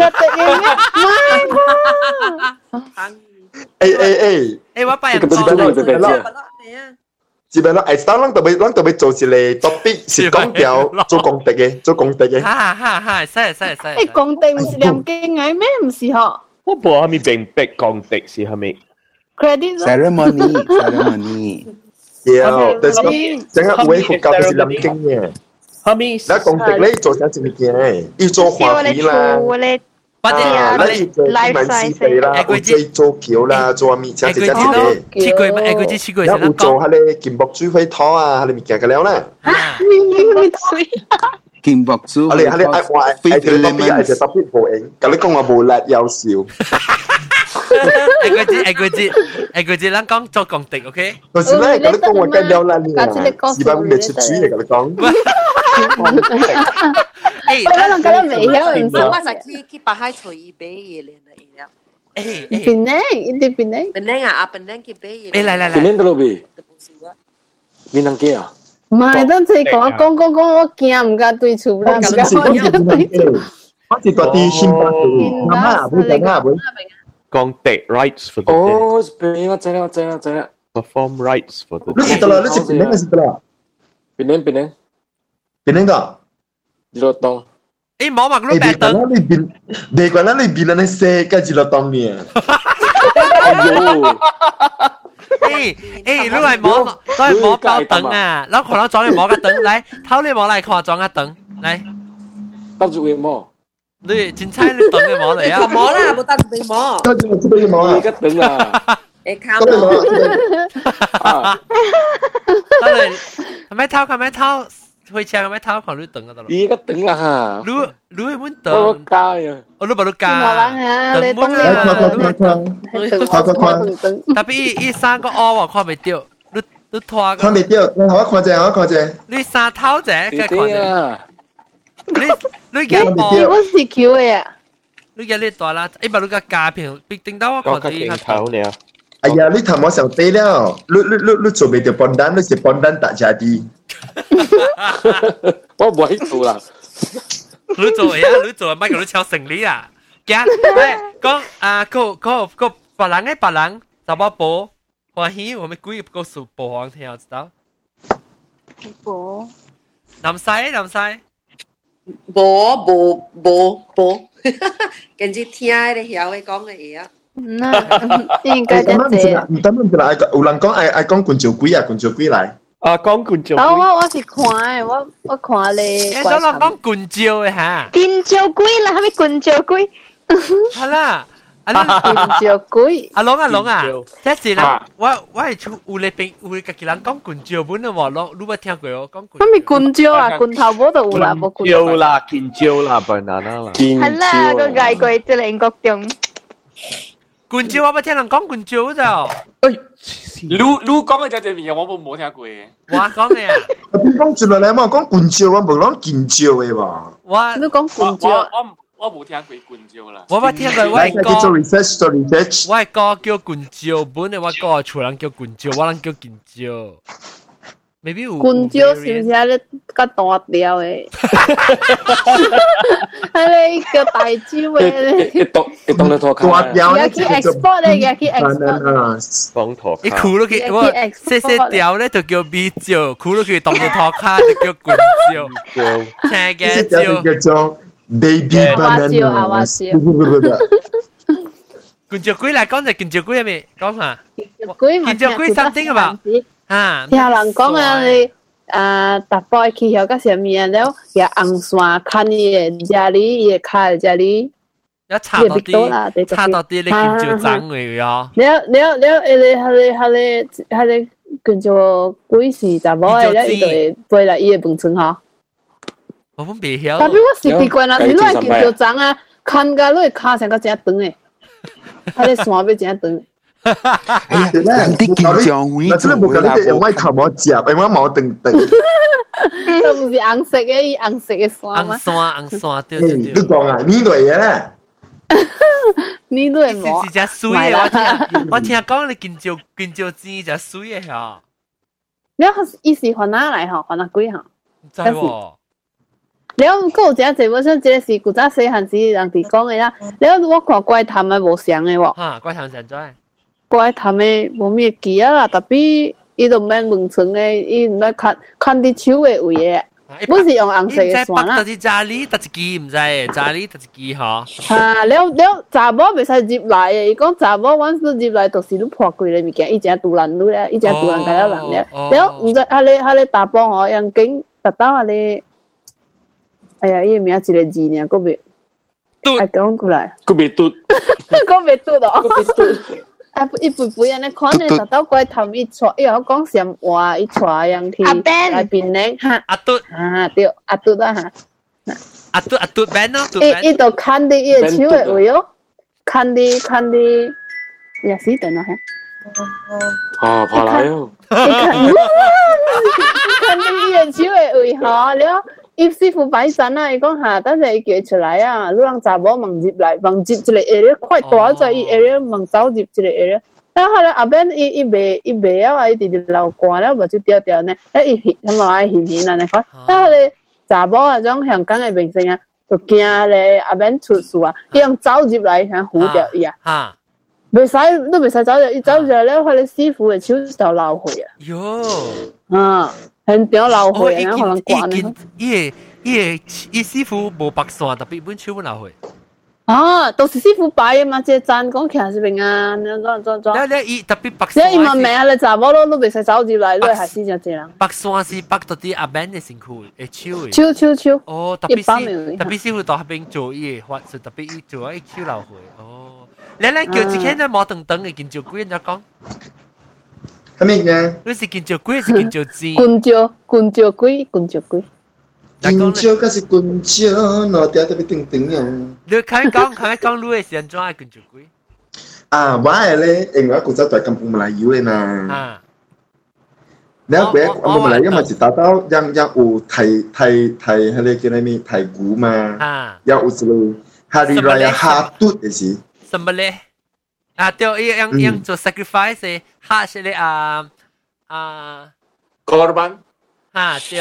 誒，我扮人講。 只不過誒，咱特別做一個 topic 是講掉做功德嘅。 哈，使。 誒，功德唔是念經嘅咩？唔是嗬？ 我冇係咪並逼功德是係咪 ？credit ceremony。 有，但係整個會佛教係念經嘅。 係咪？ 那功德咧做啥子物件？要做花皮啦。 或者買紙幣啦，或者做橋啦，做咩？即係切櫃， 有做下你金箔珠灰拖啊，下你物件嘅了啦。 金箔珠， 下你我係條特別係隻特別無影，咁你講我無辣有笑。 佢知，咱講做功德 ，OK？ 就是咧，咁你講我計了啦，你啊，是吧？未出主嘅，咁你講。 我可能覺得未曉，唔知。 我就去白海隨意俾嘢嚟啦。 檳榔啊，檳榔去俾嘢。 嚟。 檳榔到邊？檳榔雞啊？ 唔係，等陣講，我驚唔敢對厝啦，唔敢對厝。 我是嗰啲新巴嘅，媽媽會整啊會。 功德 rights for the dead。 哦，我知啦。 Perform rights for the dead。 你識得啦，你識檳榔識得啦。 檳榔個。 日落檔。 冇嘛，佢白燈。 你講啦，你檳榔你食嘅日落檔面。 你係摸包燈啊！然後可能裝你摸個燈，嚟，偷你摸嚟看裝個燈，嚟。 搭住會摸。 你真猜你等嘅摸嚟啊！ 摸啦，冇得你摸。 得你摸啊！ 而家等啊！ 你靠摸。 得你，係咪偷？會車係咪偷？看你等嗰度。 而家等啊！ 你會唔等？ 我加啊！ 我都冇得加。 你等特別依三個喎，看未掉，你拖個。 看未掉，我看啫。 你三頭啫，嘅看啫。你我是 Q 嘅啊！ 你嘅呢代啦，把你個價片必定到我看啲黑頭了。 哎呀，你頭我上低了，你做未到笨蛋，你是笨蛋大家啲。 我唔會做啦。 你做乜嘢？你抄成理啊？講啊，個白人，十八寶， 欢喜，我们故意告诉播放听，知道？ 播。 南西。 无，跟住聽你曉嘅講嘅嘢啊。 應該真係。 唔得啦，有人講愛講棍照鬼啊，棍照鬼嚟。 啊，講棍照鬼。 我是看嘅，我看你。 你講人講棍照嘅嚇？ 棍照鬼啦，係咪棍照鬼？ 係啦。 棍照鬼。 阿龍啊，即是啦，我係出有你邊有家己人講棍照本嘅喎，你冇聽過我講棍？ 咁咪棍照啊，棍頭冇就有啦，冇棍照啦，棍照啦，banana 啦。 係啦，個外國即係英國中。 棍照我冇聽人講棍照就。 你講嘅就係咩？我冇聽過嘅。 我講嘅啊。 邊講住來你冇講棍照，我冇講劍照嘅喎。 你講棍照。 我冇聽過棍照啦。 我冇聽過，我係叫做 research。 我係個叫棍照本嘅，我個厝人叫棍照，我人叫劍照。maybe 有。 棍照是唔是喺你個大條嘅？係你個大招嘅。 一動你拖卡。 大條咧，去 export 咧，去 export。 講拖卡。 你箍落去，我細條咧就叫 B 照，箍落去當到拖卡就叫棍照。聽嘅照。 叫做 baby banana。 棍照鬼嚟講就棍照鬼係咪？講下。 棍照鬼something about。啊！ 聽人講啊，你逐步去曉個什麼啊？了，也紅線看你嘅家裡，也看家裡。 一插到啲你棍照爭嚟啊！你棍照鬼是查某嘅咧，伊就會飛來伊嘅墳村嗬。 我本未曉。 但係我是奇怪啦，你攞棍照爭啊，看個你卡成個正長誒，佢哋線要正長。 啲劍匠會做啦， 我咪頭冇接，因為冇定。 都唔是紅色嘅，紅色嘅線嘛。 紅線，對。 你講啊，呢類嘢咧？ 呢類冇。 是只水嘅，我聽講你棍照枝只水嘅嚇。 你伊是換哪來嗬？換哪鬼嗬？ 唔知喎。 你有個有一我想這是古早細漢時人哋講嘅啦。你我看怪談嘅無相嘅喎。 嚇，怪談成咗。 怪談嘅無咩記啊啦，特別伊都免問村嘅，伊唔免看啲手嘅位嘅，本是用紅色嘅線啦。 特是扎哩，特一支唔知，扎哩特一支嗬。 啊，了查某袂使入來嘅，伊講查某阮入來就是你破櫃嘅物件，伊只獨人女咧，伊只獨人家人咧。了唔知下你大幫我樣經特登下你，哎呀，伊名一個字呢，個別，哎講過來， 個別嘟， 個別嘟咯。啊！一步步人咧，可能就到怪頭一撮，因為我講上話一撮樣去來邊咧嚇。 阿嘟啊，對，阿嘟啦嚇。 阿嘟 band 咯， 伊度看啲伊個手嘅位哦，看啲，也是等下嚇。 啊，跑來哦！ 看啲伊個手嘅位嗬，了。葉師傅擺陣啊！伊講下，等陣伊叫出來啊！你讓查某問入來，問入一個area，快大咗伊 area 問走入一個area。然後咧後邊伊袂啊，伊直直流汗了，無就掉掉呢。伊佢咪愛顯啊！你看，然後咧查某啊種香港嘅明星啊，就驚咧後邊出事啊，伊用走入來想唬掉伊啊。嚇！袂使，都袂使走入，伊走入來咧，佢哋師傅嘅手就流血啊。喲！啊！很屌流血，然後可能掛呢。 伊師傅無白線，特別本手本流血。 啊，都是師傅擺嘅嘛，即係讚講其實是平安，你伊特別白線。 你問命啊，你查某都袂使走入來，你係死就這樣。 白線是白到啲阿 Ben 嘅身軀嘅手。 手。 哦，特別師傅到後邊做伊嘅法術，特別伊做伊手流血。哦，你叫一間咧冇等等嘅見照鬼人就講。 係咩嘅？ 你是見照鬼，是見照字？ 棍照鬼。 棍照嗰是棍照，攞掉特別定定啊！ 你睇講，你係先做係棍照鬼？ 啊，我係咧，因為我古早在金鳳馬來油嘅嘛。啊。你一個我馬來油咪是打到讓有睇係你叫咩睇鼓嘛？啊。有時hari raya hatut 嘅事。 什麼咧？啊，對，yang做 sacrifice 嘅哈是咧 korban 啊，對。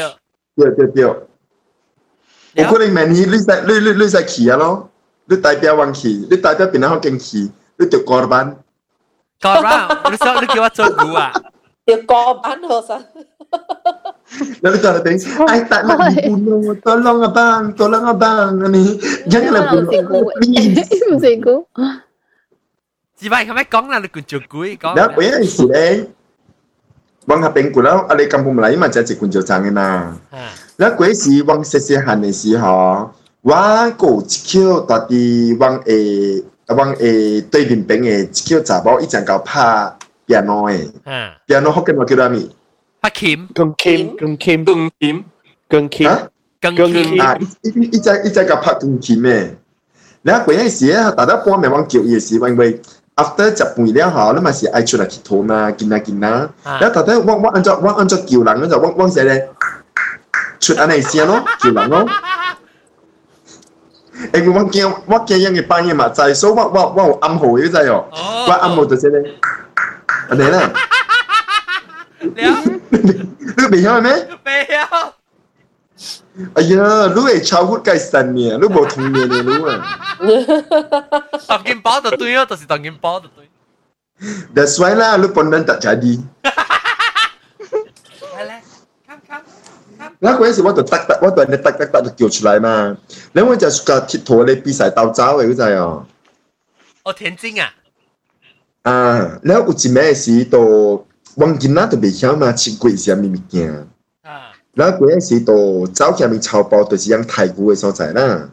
有可能明年你使騎啊咯，你代表往騎，你代表邊個好勁騎，你就 korban。 講啦，你叫我做牛啊？ 要過班學生。 Lalu tu ada tengok, I tak nak dibunuh, tolong abang, ni janganlah bunuh. Musiku. 只係咁樣講啦，你叫做鬼講。 Dah, punya isi deh. Bang hapeng kulau, ada kampung Melayu macam cik kunjau jangan na. Lah, kue si bang sesihan ni si ha, wah go cikio tadi bang对面边嘅cikio zabao 一陣夠拍 piano 嘅，piano 好嘅我叫咩名？ 拍琴， 鋼琴啊！一隻個拍鋼琴嘅，你嗰陣時咧，大家幫咪往叫嘢時，因為 after 食飯了後，你咪是愛出嚟祈禱嘛，見啦，然後大家我按照叫人嗰就我寫咧，出安尼聲咯，叫人咯。誒，我驚人嘅班嘅嘛，就係所以我有暗號嘅啫哟，我暗號就寫咧，安尼啦。你未曉咩？ 未曉。 哎呀，你係childhood 嘅神嘅，你冇童年嘅你啊。 當件包就對咯，就是當件包就對。 That's why 啦，你本人tak jadi。那嗰陣時我就叫出來嘛，然後我就 suka 鐵陀咧比賽鬥走嘅嗰陣哦。 哦，田徑啊。 啊，然後有一咩時到。往今仔都未曉嘛，切過什麼物件？然後嗰陣時到走下面草包，就是養太古嘅所在啦。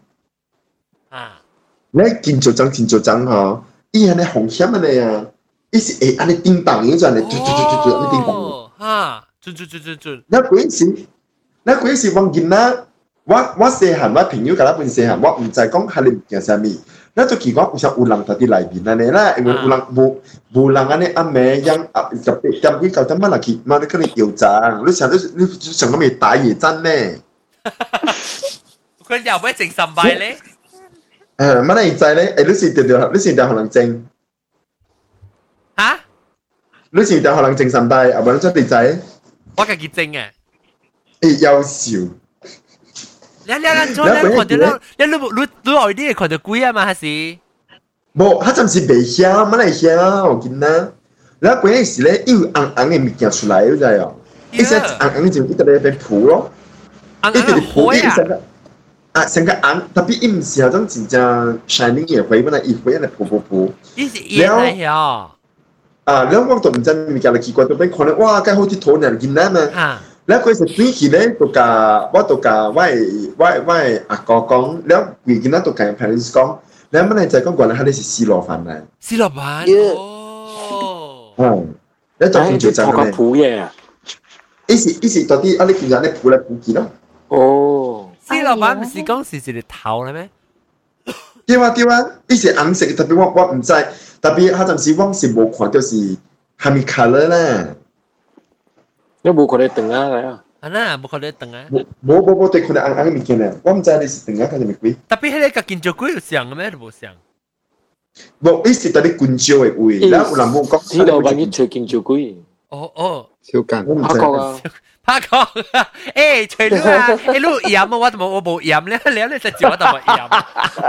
你見做爭嗬，伊係你紅險嘅你啊，伊是會安尼叮當嗰陣，你嘟安尼叮當。準。那嗰陣時往今仔，我細漢，我朋友甲我分細漢，我唔知講係你物件啥物。那就奇怪，有人喺啲內邊安尼啦，因為有人無人安尼暗暝養特別點幾九點乜落去，媽你可能搖漲，你想咁咪打野戰咩？ 佢又唔係整神敗咧？ 乜你知咧？你是條可能整嚇？ 你是條可能整神敗，啊唔係你出地仔？ 我自己整嘅。 優秀。 你看到你外啲看到鬼啊嘛？還是？ 冇，佢暫時未曉，乜嚟曉？我見啦。然後嗰陣時咧，要硬嘅物件出來，你知哦？一隻硬就一直喺度鋪咯，一直鋪一成個成個硬，特別唔是嗰種真正 shining 嘅灰，本來一灰嚟鋪。 呢是嘢嚟㗎。 然後我都唔知物件嚟奇怪，到邊看咧，哇！梗好似土人見啦嘛。แล้วก็จะตีขี้เลยตัวกาว่าตัวกาไหวอากอกงแล้ววีกินนั้นตัวกาแพริสกงแล้วมันในใจก็ก่อนแล้วเขาได้ซีโร่ฟันเลยซีโร่ฟันโอ้แล้วจะคุณจะจำได้ผูเย่อีสิตอนที่อะไรกินยาเนี่ยผูเลยผูกินเนาะโอ้ซีโร่ฟัน唔是講是一個頭เลย咩對啊อีสิอังสิ特別我唔知特別佢暫時我是冇看到是係咪 color 啦你冇看到燈啊嚟啊？ 啊嗱，冇看到燈啊？ 冇對佢哋硬嘅物件咧，我唔知你是燈啊，佢哋咪鬼。 特別係你個建築鬼有像嘅咩？都冇像。 冇，伊是特別建築嘅位，然後有人冇講。 知道揾啲吹建築鬼。 哦。 小間。 拍角啊！ 拍角啊！誒，吹你啊！誒，你鹽啊？我冇鹽咧，你實接我就冇鹽。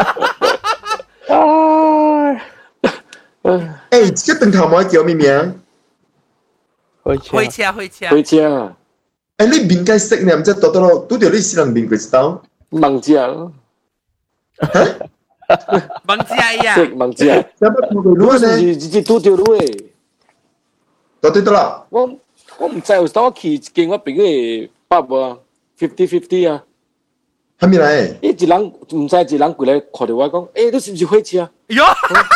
誒，這個燈頭冇叫咩名？ 開車。 誒，你面計識你唔知多咯，都條你是人面佢知道？ 盲字啊！ 盲字啊！ 識盲字啊！ 有乜冇佢攞咧？ 直都條路誒。 多啲得啦。 我唔知有時去見我朋友爸爸50-50啊。 係咪嚟？ 一人唔知一人過來看到我講，誒，你是唔是開車啊？ 喲，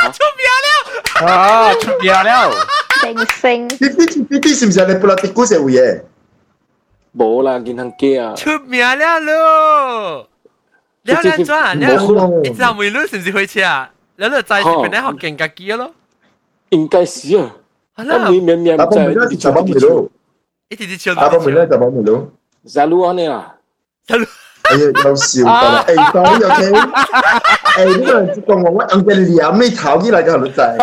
出名了！ 明星， 呢是唔是你布拉迪古社會嘅？ 冇啦，銀行機啊！ 出名了咯！你有兩轉啊？你知道梅魯是唔是開車啊？你就在住邊咧學勁格機咯？ 應該是啊。我每面面在一直梅魯， 一直笑。 阿伯梅魯就冇梅魯。 在路安尼啊？ 在路。 哎呀，有笑㗎！誒，講呢樣嘢，誒呢個人講我硬嘅臉尾頭起來就係仔。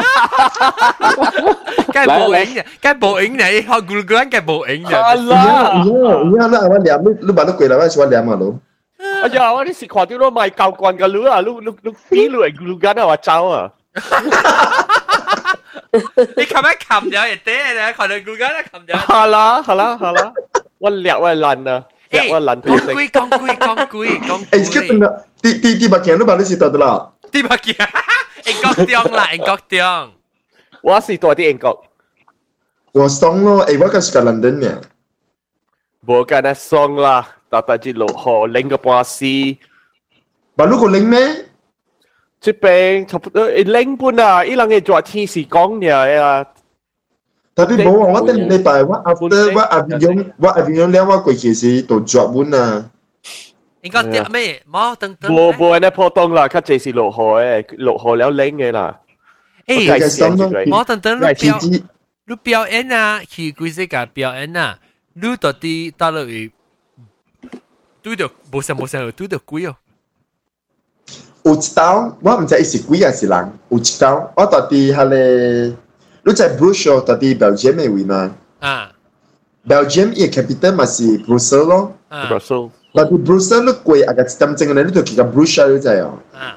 梗係報應嘅，學咕嚕咕梗係報應嘅。 而家我臉你把都跪啦，我喜歡臉啊佬。 哎呀，我啲食看到都賣教慣㗎，你比如係咕嚕緊啊，話走啊。 你琴日冚咗亦得咧，看到 Google 咧冚咗。 好啦，我掠我爛啊，掠我爛退息。 講句。 誒，即係點啊？啲物件都把你是得的啦。 啲物件，英國中。 我是多啲英國。 我送咯，誒，我個是個 London 嘅。 冇間得送啦，搭住落河領個半絲。 把路個領咩？ 這邊差不多領半啊，伊人嘅做天時講嘅啊。 tapi bawa awak tadi lepas after what avion lewat kau kisi tu job pun lah. 應該啲咩？冇等。 冇呢破洞啦，佢這是落河嘅，落河了領嘅啦。 冇等你表演啊，去幾時間表演啊？你到底到落去對到冇聲對到鬼哦。 有一道我唔知是鬼還是人，有一道我到底係咧。你在 Brussels 到底 Belgium 嘅位嘛？ 啊 ，Belgium 嘅 capital 咪是 Brussels 咯。 Brussels。 但係 Brussels 你貴啊個點正嘅，你就去個 Brussels 你知啊？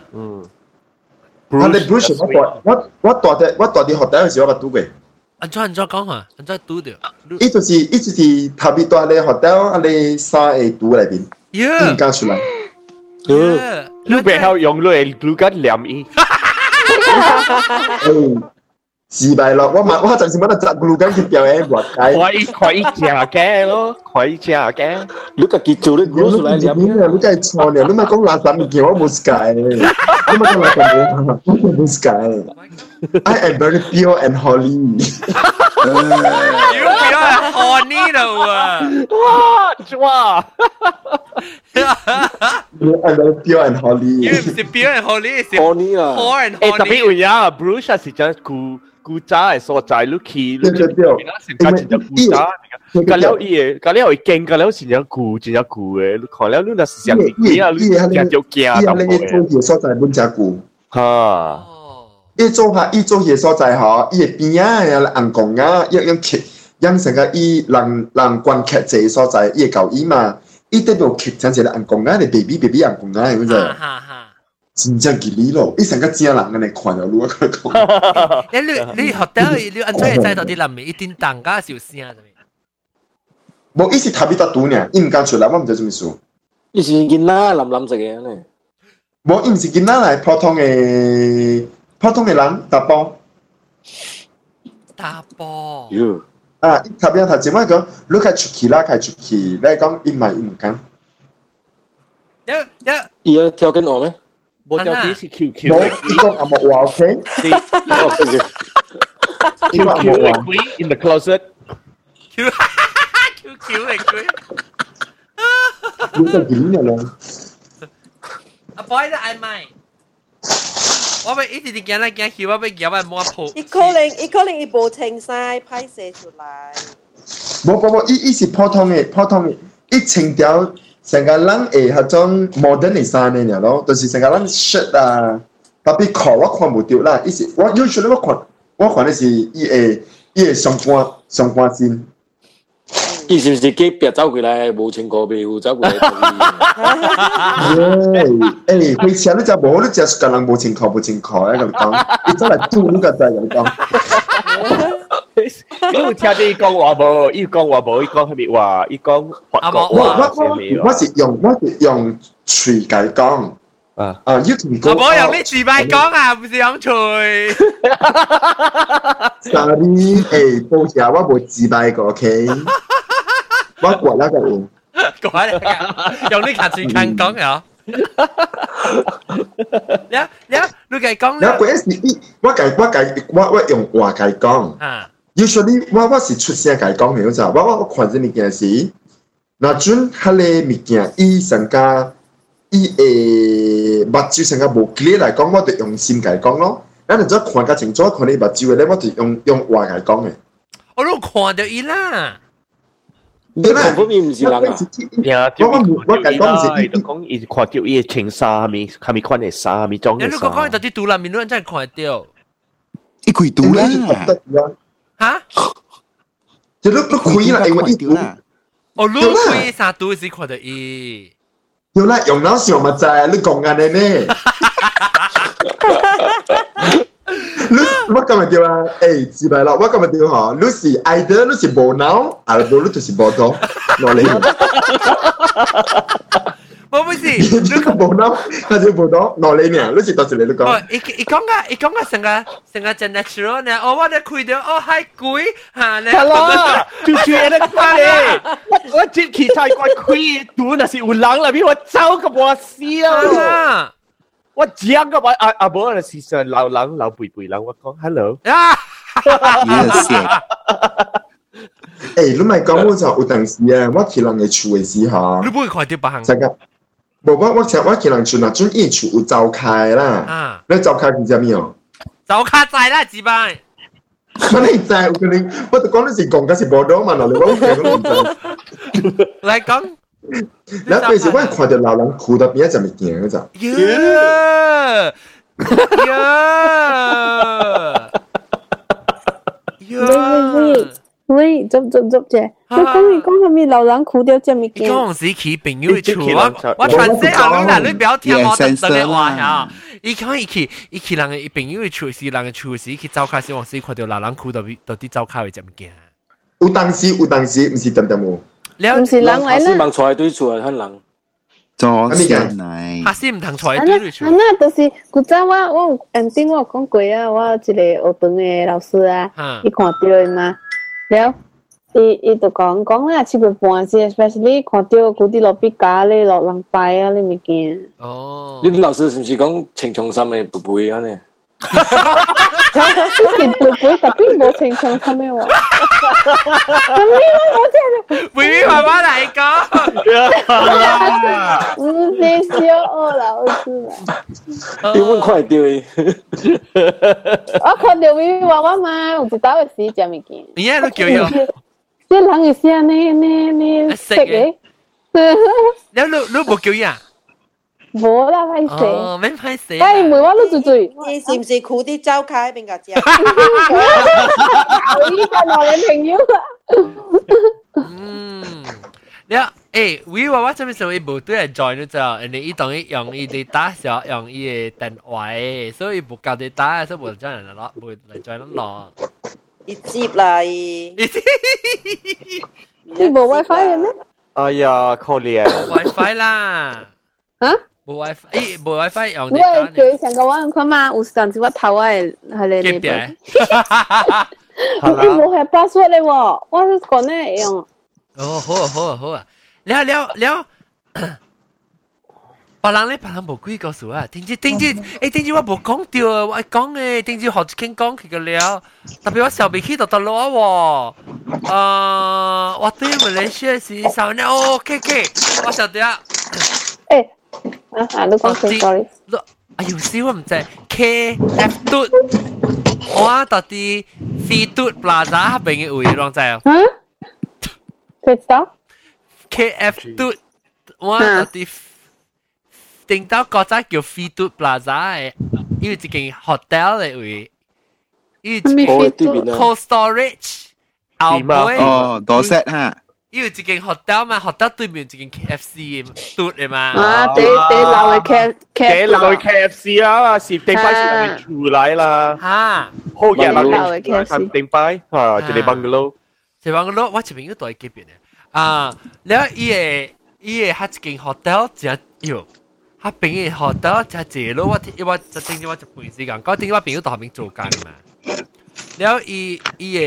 但係 Brussels 我大啲學校嘅時候我冇讀過。 安怎講啊？安怎讀到？ 伊就是特別大嘅學校，啊你三個讀裏邊，唔講出來。 你別曉用你嘅語言念伊。 自敗咯，我暫時冇得習慣去表演活計。 可以正嘅咯，可以正嘅。 你個結做你講出來念。 你真係錯嘅，你咪講垃圾嘢，我冇解。你咪講垃圾嘢，我冇解。I am very pure and holy. You pure and holy 咯啊！ 哇 ！I'm very pure and holy. You 唔是 pure and holy， 是 holy 啊。 pure and holy。 特別有呀 ，Brussels 是真古早嘅所在，你去，你成家真正古早。隔了伊，隔了伊見，隔了真正古嘅，你看了你那是像啲啊，你真就驚到嘅。伊做嘢所在本真古。 哈。 伊做嘢所在嗬，伊嘅邊啊，人講啊，用劇，用成個伊人觀劇這所在，伊嘅舊衣嘛，伊對部劇真係人講啊，你 baby 人講啊，咁就。真正吉利咯！伊成個正人嘅嚟看到路佢講。 你學到你安怎會知道啲人面一定當家小聲啫？ 冇，伊是特別多讀呢，伊唔敢出來，我唔知做咩事。 伊是囡仔藍色嘅呢？ 冇，伊唔是囡仔嚟，普通嘅人打波。 打波。 啊！特別頭先我講，你開出去啦，你講伊唔敢。 伊有跳緊我咩？ 冇條件是 QQ， 冇，伊講阿莫話 OK。 QQ 嘅鬼 in the closet。 QQ 嘅鬼。 你個點嘅咧？ 阿 boy 都嗌咪。我咪一直驚嚟驚去，我咪腳咪摸破。 伊可能伊無清晒拍攝出來。 冇，伊是普通嘅，伊清掉。成個人誒嗰種 modern 嘅衫嚟嘅咯，就是成個人 shirt 啊，特別褲我看唔到啦。伊是我 usually 我看的是伊嘅上半身。 伊是唔是幾別走過來冇穿過表走過來？ 開車你就冇，你就個人冇穿褲咁講，你真係做呢個就係咁講。 你有聽到伊講話無？伊講係咪話？伊講法國話。 我是用嘴解講。啊！要同我冇用啲自閉講啊，唔是用嘴。 Sorry， 報時我冇自閉過 ，OK。我過啦個喎。 用啲卡嘴講講啊！你計講咧？ 我用話解講。Usually 我是出聲解講嘅，就我看這物件是，那陣迄個物件，伊成個伊目睭成個無 clear 來講，我就用心解講咯。咱就再看較清楚，看你目睭嘅咧，我就用話解講嘅。 我都看到伊啦。 你看不明唔是人啊？ 我解講是伊，講伊看到伊嘅穿衫，係咪款嘅衫，係咪裝嘅衫？ 你講到啲杜蘭面，你真係看到。 伊開杜啦。 嚇！ 就你開啦，因為伊啦。 哦，你開啥杜是看到伊？ 有啦，用腦想咪就係你講緊嘅咩？ 我今日對啊，自白啦，我今日對嗬，你是either你是無腦，啊無你就是無腦，我嚟。 我不是， 你個無腦，還是無腦，我嚟呢？你是到時你講。 伊講個成個真 natural 呢？我哋開到係貴嚇咧。 係咯，就是那個咧，我接其他怪開賭那是有人啦，比我走個我笑啊！我講個阿伯那是上老人老輩輩人，我講 hello 啊， 你咪講我就有當時啊，我去人嘅厝嘅時候， 你唔會看到別行。 真嘅，我去人厝那陣伊厝有走開啦，你走開佢知咩哦？ 走開在啦，自拜。 我你知，我跟你，我就講你是講嘅是無腦嘛，我講唔知。 嚟講。 然後嗰時我係看到老人哭到邊一陣咪驚嗰陣。 喂，捉啫！我講係咪老人哭到隻咪驚？ 講時佢朋友嘅厝，我傳聲下你啦，你不要聽我特登嘅話呀。伊講伊去人嘅朋友嘅厝時，人嘅厝時佢走開時，往時看到老人哭到啲走開嘅隻咪驚。 有當時，唔是等冇。 唔是人嚟啦， 是盲出來對厝啊，很人。 做先嚟， 下次唔通出來對對厝。 那就是古早我頂我講過啊，我一個學堂嘅老師啊，伊看到嘅嘛，了，伊就講啦，7月半時 ，especially 看到嗰啲落筆架咧，落人擺啊，你咪驚。 哦。你老師是唔是講青松山嘅不會啊呢？ 之前背特別冇情況係咩話？咁呢個我真係會慢慢嚟講。 唔是小學老師啦。 點會快啲？ 我看到微微娃娃嘛，有一道嘅時就咪見。 你喺度叫佢？ 即係人嘅聲呢識嘅。 你冇叫佢啊？ 冇啦，歹勢。 哦，免歹勢。 哎，梅花都醉。 你是唔是苦啲走開邊個知啊？ 我依家我嘅朋友啊。 你微娃娃這邊時候伊無對嚟 join 咗之後，人哋伊當伊用伊哋打時候用伊嘅電話嘅，所以無教哋打，所以無將人攞，無嚟 join 得攞。 伊接啦伊。 你冇 WiFi 嘅咩？ 哎呀，可憐。 WiFi 啦。 啊？ 冇 WiFi，冇 WiFi 用你係佢成個玩佢嘛？有陣時我頭係你呢邊。你冇係 password 咧喎，我講咧用。 哦，好啊，了。別人無幾個數啊，頂住我無講掉啊，我講嘅頂住學傾講佢個了，特別我小鼻氣到得落喎，我對馬來西亞是少呢，OK，我曉得啊。 你講先 ，sorry。 哎呦，死我唔知 KF 嘟，我到底飛嘟 Plaza 邊嘅位攏知啊？ 知道 ？KF 嘟，我到底定到嗰隻叫飛嘟 Plaza 嘅，因為一間 hotel 嘅位，因為 cold storage 後背哦，多 set 哈。 因為一間 hotel 嘛 ，hotel 對面一間 KFC 嘟嘅嘛。 啊，第樓嘅 KFC 啦，是頂擺是出來啦。 嚇， 好嘅啦，頂擺嚇，就係 bungalow。 就 bungalow，我前面嗰度係幾邊嘅？啊，然後伊個喺一間 hotel 真喲，喺邊個 hotel 真謝咯，我就頂住我就半時間，嗰頂我邊嗰度後面做緊嘛。然後伊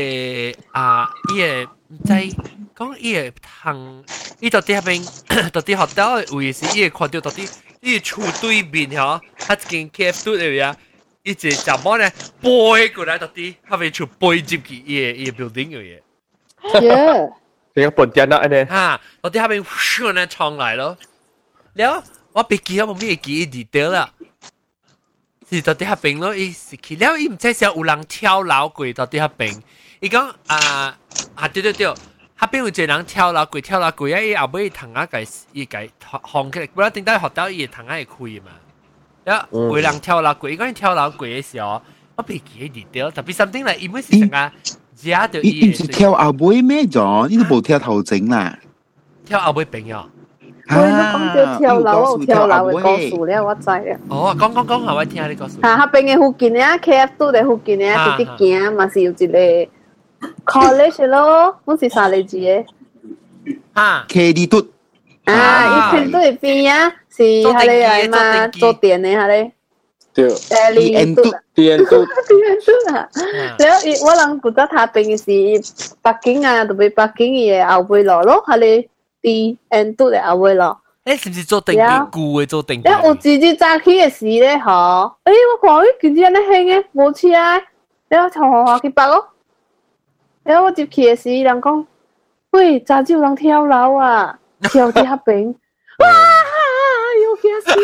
個唔知。講伊個行，伊到底喺邊？到底 hotel 嘅位是伊個看到到底伊個厝對面嗬，喺一間 KF 嘟嚟啊！伊只閘門咧背過來，到底喺邊厝背入去伊個 building 嘅嘢。 點解半點啊？呢？ 嚇，到底喺邊唰咧衝來咯。แล้ว我別記我冇咩記 detail 啦。是到底喺邊咯？伊是去了，伊唔知是有人跳樓過到底喺邊。伊講對。下邊有一個人跳樓過啊！伊後尾藤仔伊放起來，本來頂到學到伊藤仔會開嘛。有人跳樓過，伊講跳樓過嘅時候，我袂記得掉，特別 something 嚟，因為是成個夾到伊。 伊唔是跳後尾咩咗？伊都冇跳頭前啦。 跳後尾邊哦。 喂，你講到跳樓，我跳樓嘅故事咧，我知啊。 哦，講下我聽下你故事。 嚇，邊嘅附近咧 ，KF 都喺附近咧，直直行，嘛是有一個 college 咯，好似三里字嘅。 嚇 ，KD 都啊，以前都係邊啊，是係你係嘛做電嘅係你。 對。 電都啊！แล้วว่าหลังกูจะทาเป็นสิปักกิ่ง啊，特別ปักกิ่ง嘅後背路咯，係你電都嘅後背路。 你是唔是做定嘅固嘅做定？ 因為我自己揸起嘅時咧，嗬，我看呢件啲人咧興嘅冇車啊，你我從學校去白咯，然後我接起嘅時，人講，喂，揸住人跳樓啊，跳啲黑餅，哇，要驚死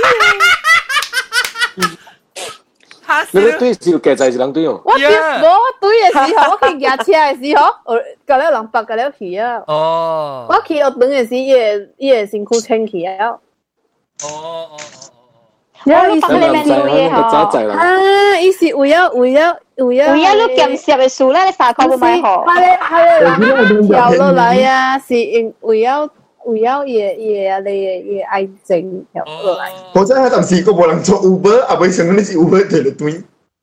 你咧對是嘅就係人對哦。 我對嘅時候，我去駕車嘅時候，我隔了人白隔了去啊。 哦。 我去學等嘅時，伊個身軀清起啊。 哦。 然後伊是你咩嘢嗬？ 啊，伊是為咗你兼攝嘅數咧，你3塊都買好。 係跳落嚟啊，是為咗你愛情跳落嚟。 我真係當時個冇人做 Uber，啊，為什麼你是 Uber 對了對？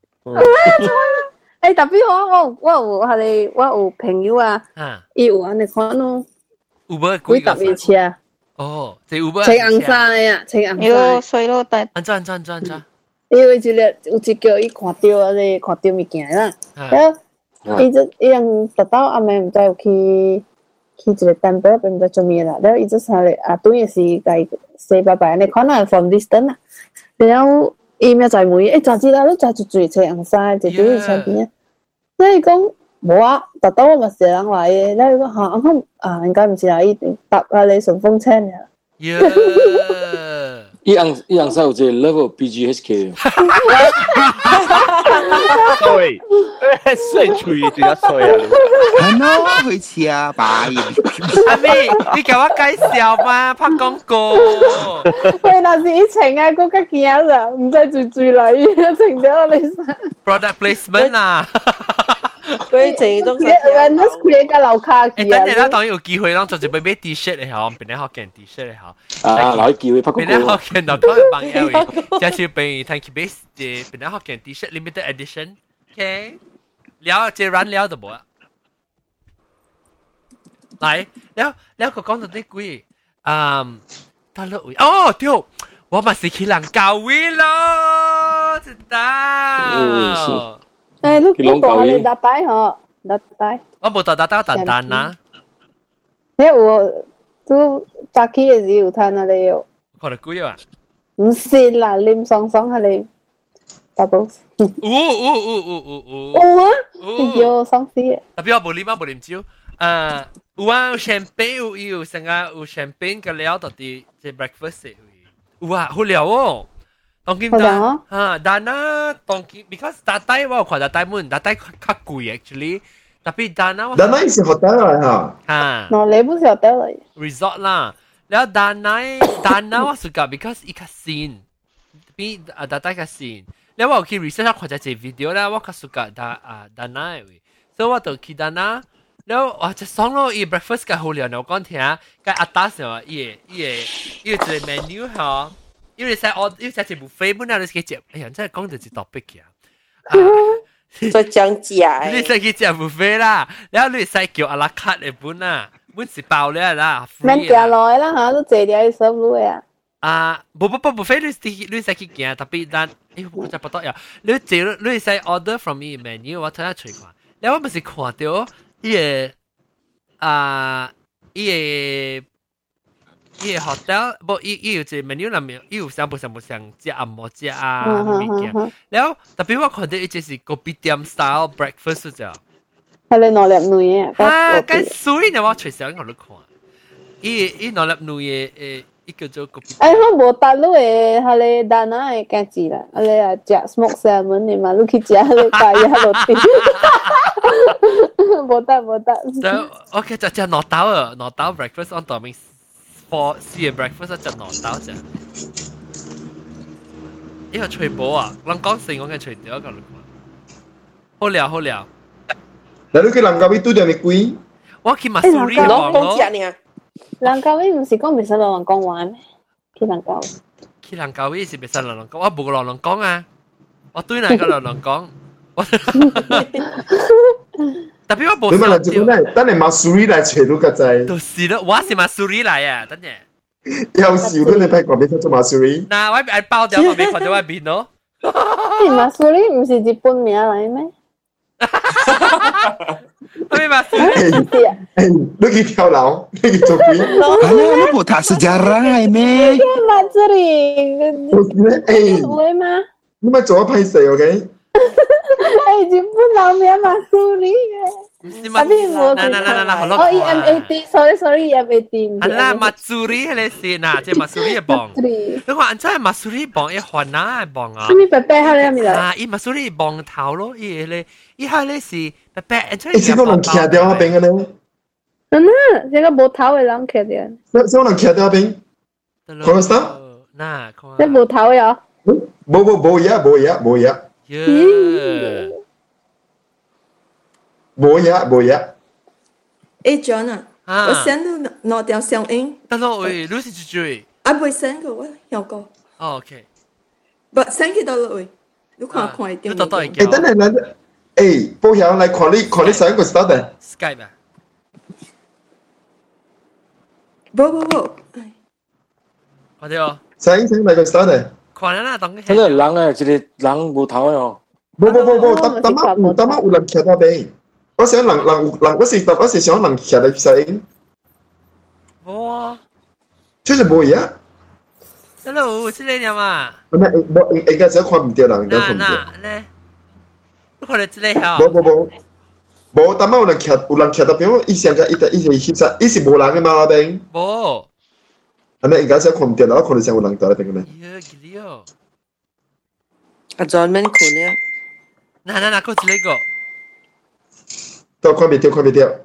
誒，特別我有朋友啊，伊有安尼看咯 ，Uber 幾特別車。 哦，即 Uber 青紅衫嘅啊，青紅衫。 水咯，但安怎？ 因為有一叫伊看到物件啦，然後伊人特到阿妹唔知有去一個單位，唔知做咩啦，然後伊就上嚟啊，對嘅是個細伯伯，你看下 from distance 啊，然後伊咪就問伊，揸住啦，你揸住最青紅衫，就對伊身邊啊，所以講冇啊，特到我咪成人來嘅，然後講嚇啊，應該唔是啦，伊搭下你順風車嘅。 伊樣晒有隻 level BGHK。 對，衰脆仲有衰啊！ 係咯，去似啊，拜。 阿妹，你給我介紹嘛，拍廣告。 喂，那是以前啊，嗰個驚啦，唔使最嚟，情咗你曬。 Product placement 啊。 佢這種人都佢嘅樓卡等陣啦，當然有機會啦，做一杯 T-shirt 嚟好，變得好件 T-shirt 嚟好。 攞機會拍廣告。 變得好件就講幫 L， 加少俾 Thank you base 嘅變得好件 T-shirt limited edition。OK， 聊這軟聊就冇啦。嚟，聊個講到啲鬼，得啦喂，哦對，我咪是去人教會咯，知道。 誒，你講你搭帶嗬，搭帶。 我冇搭蛋蛋啦。 你有都搭起嘅時候睇下你有。 看得貴啊？ 唔是啦，啉爽爽下你搭到。有啊？有爽死嘅。 特別我冇啉酒。有啊，有 champagne 有成啊，有 champagne 嘅料到啲即 breakfast 嘅。有啊，好料哦。當今但啊，當今 because 大帶我看大帶門，大帶較貴 actually，特別但啊， 但係是 hotel 嚟嚇， 嗱你不是 hotel 嚟 ，resort 啦，แล้ว但啊我 suka because 伊較新，比大帶較新，แล้ว我去 research 看咗隻 video 啦，我較 suka 但啊嘅，所以我就去但啊，แล้ว我就爽咯，伊 breakfast 較好料，我講聽，個阿達時候伊個 menu 嚇。因為我因為食 buffet 本來你食，哎呀，真係講到一 topic 嘅。 再講價。 你食去食 buffet 啦，然後你使叫阿拉卡嘅本啊，本是包咧啦。 免行來啦嚇，都坐條去收路嘅。 不 buffet 你使去行，特別但，我就不得呀。你使 order from 伊 menu， 我睇下隨看。然後我咪是看到伊個 hotel 不伊有一個 menu 裏面，伊有全部食按摩食啊物件，然後特別我看到伊就是kopitiam style breakfast 啫。 係你攞粒女嘅。 咁水呢？我隨時喺度看，伊攞粒女嘅伊叫做 kopitiam。 我冇搭路嘅，係你但係嘅字啦，你係食 smoke salmon 你嘛，你去食你帶一落地。冇得。 OK， 就攞到 breakfast on timing。for 試嘅 breakfast 就攞到啫，呢個脆寶啊，人講成我嘅脆條個，好料。 嗱，你去人家邊度有咩貴？ 我去馬蘇里講咯， 人教會唔是講未使落人講話咩？去人教。 去人教會是未使落人講，我冇落人講啊，我對哪個落人講？特別我冇。 你問人做咩？等你馬蘇里嚟吹到個仔。 就是咯，我是馬蘇里嚟啊，等陣。 有時都你睇過邊出做馬蘇里？ 嗱，我係包掉我未看到我邊咯。 馬蘇里唔是日本名嚟咩？ Tapi masuk. Lu pergi跳楼，你去做鬼。 Alah, lu tak sejarah me. Mak sering. Boleh mah? 你咪做一批死 ，OK？ 日本老名馬蘇里嘅。Tapi冇。 嗱， 哦 ，EMAT，sorry EMAT。 係啦，馬蘇里係你先嗱，即係馬蘇里嘅磅。你話安真係馬蘇里磅，一環哪係磅啊？ 咩白白係咪啦？ 啊，伊馬蘇里磅頭咯，伊係你是白白，安真係。誒，先可能騎掉一邊嘅咧。 真啊，這個冇頭嘅人騎掉。 先可能騎掉一邊。可能啥？ 嗱， 即冇頭呀？ 冇嘢。冇嘢。 誒 ，John 啊，我 send 到攞條相影。 得咯，喂，你是追？ 啊，未 send 過，我有個。 哦 ，OK。 不 send 佢到咯，喂，你看一點。 誒， 等陣，誒，報曉嚟看你上個 start 嘅。 Skype 啊？ 冇。 快啲哦。 上嚟個 start 嘅。 看啦，當真係人誒，一個人無頭嘅哦。 冇，等下有人騎到邊。我想人，我是想人騎嚟上。 冇啊。 就是冇嘢。 Hello，是你呀嘛？ 唔係，應該是看唔到人，應該看唔到。 咧，你看到這裡嚇？ 冇，等下有人騎到邊？以前一時冇人嘅嘛嗰邊。 冇。 係咪應該是看唔到啦？我看到上有人到嗰邊嘅咩？ 阿 John 咩款咧？ 嗱，嗰隻呢個。 都看唔到。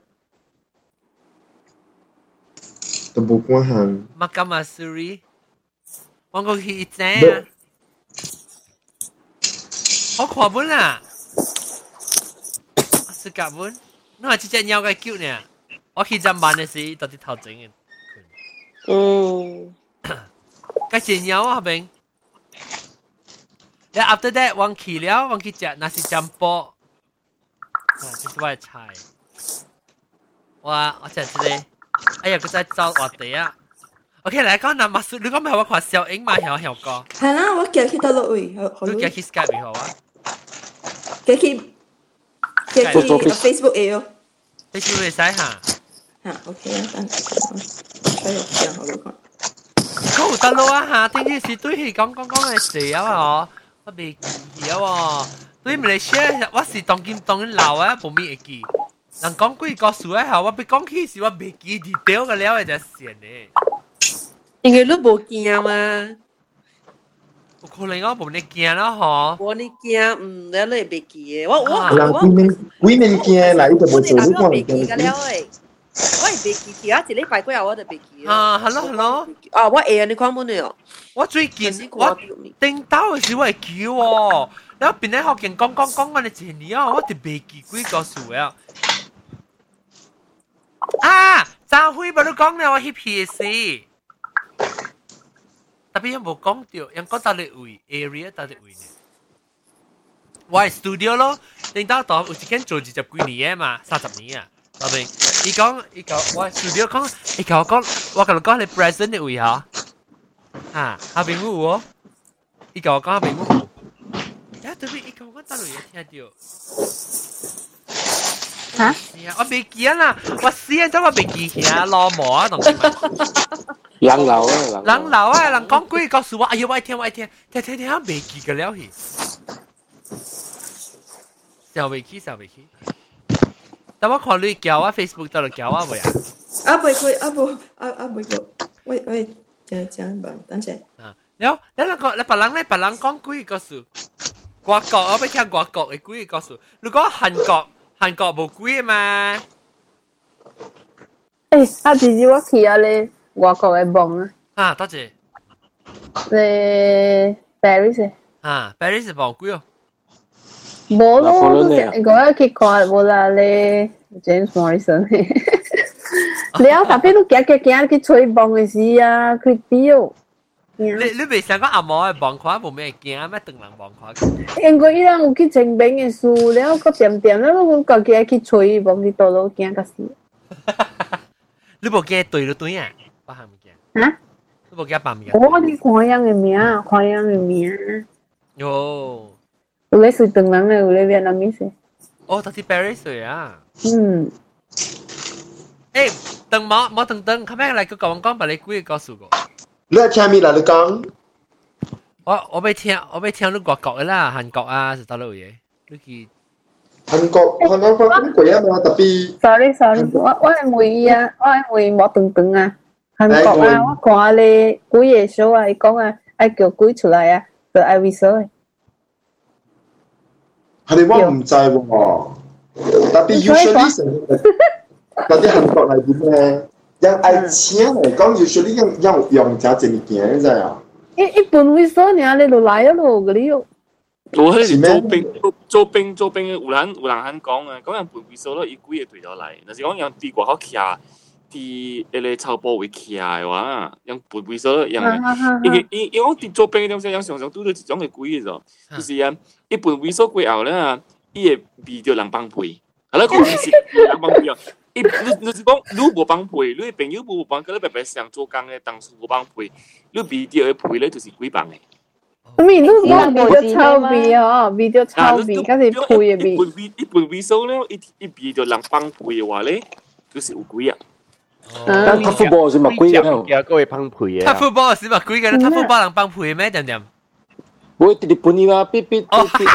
都冇關行。 Makam Masuri， 我過去一陣啊，我看本啊，是夾本，你話這隻鳥嘅叫呢？我去陣班嘅時到底頭整嘅。嗰隻鳥啊邊，然後 after that 忘記食，那是醬煲，這是我嘅菜，我食這個。哎呀，佢真係走我哋啊 ！OK， 嚟講嗱，麥叔，你講咪係我看小英嘛，曉講。 係啦，我寄去到落位， 你寄去 Skype 好啊？ 寄去 Facebook 嘅喲。 Facebook 會使嚇？ 嚇 ，OK 啊，等我講好你講。 嗰有得咯啊嚇！點知是對佢講嘅事啊嘛？我未記啊喎，對唔嚟 share， 我是當然老啊，冇咩會記。人講幾個數啊，我別講起時我未記 detail 嘅了，就線咧。 因為你冇驚嘛， 有可能我冇你驚啦，嗬。 冇你驚，你係未記嘅。我幾面驚嚟就冇做， 我未記嘅了誒。我係未記，其他一禮拜幾日我就未記。 啊，hello。 啊，我你看冇呢？ 我最近我頂到嘅時我係記喎，然後邊咧學見講我哋前年啊，我哋未記幾個數啊。啊！張輝咪都講了我去 PSC， 特別有冇講到，人講到你位 area 到你位呢？我係 studio 咯，領導當有一間做20幾年嘅嘛，30年啊，後面伊講我係 studio 講，伊甲我講你 present 的位嚇，啊，後邊有喎，伊甲我講後邊有，呀對面伊甲我講到你也聽到。 嚇！ 我未記啦，我試咗我未記起老毛啊，同人流啊， 人講幾個數啊，哎呀，我聽，聽未記嘅了去，小未記。但我看你叫我 Facebook 到度叫我未啊？ 啊，未過，喂，講吧，等陣。 啊，了，你別人講幾個數，外國我要聽外國嘅幾個數，如果韓國冇貴嘛？ 啊，自己我去啊你外國嘅網啊。 啊，多謝。 你 Paris 啊 ，Paris 冇貴哦。 冇咯，嗰日去看冇啦，你 James Morrison。 了，特別都行去吹風嘅時啊，佢丟。 你未想講阿嬤嘅望看冇咩驚咩？等人望看。 因為伊人有去清明嘅事，了個點了，我家己去吹風去倒落驚個死。 你無驚對了對啊？我係唔驚。 啊？ 你無驚扮咩？ 我你看樣嘅名，看樣嘅名。 哦。 有咧水等人嘅，有咧越南面食。 哦，他是Paris水啊。 嗯。 誒，等冇等，佢咩嚟？佢講把你幾個告訴我。 你係聽咩啦？你講。 我未聽你外國嘅啦，韓國啊，是到哪嘢？你去。 韓國講過啊嘛，特別。 sorry，我係會啊，我係會冇等啊。韓國啊，我看你鬼嘢 show 啊，伊講啊，愛叫鬼出來啊，就愛為所嘅。 係你我唔知喎，特別 usually 成，特別韓國係點咧？人愛請嚟講 usually 用真正物件，你知啊？ 一般為所呢？你就來咗咯，嗰啲。 我迄是做兵嘅有人肯講啊，講人半為所咯，伊幾個對咗嚟，但是講人啲外口徛。啲迄個草坡位徛嘅話，用半為所用嘅，伊講啲做兵嘅東西，人常常拄到一種嘅鬼嘅啫，就是啊，一半為所過後咧，伊會味着人幫配，係啦，佢是人幫配啊，你是講你無幫配，你朋友無幫，佢你白白上做工嘅，當初無幫配，你味着嘅配咧就是鬼幫嘅。 咁咪你講味着臭味哦，味着臭味，嗰是配嘅味。 一半為所咧，一味着人幫配嘅話咧，就是有鬼啊。 但他football 是乜鬼嘅？ 有嗰位幫配嘅。 他football 是乜鬼嘅？他football人幫配咩？點？ 我哋日本呢個必必。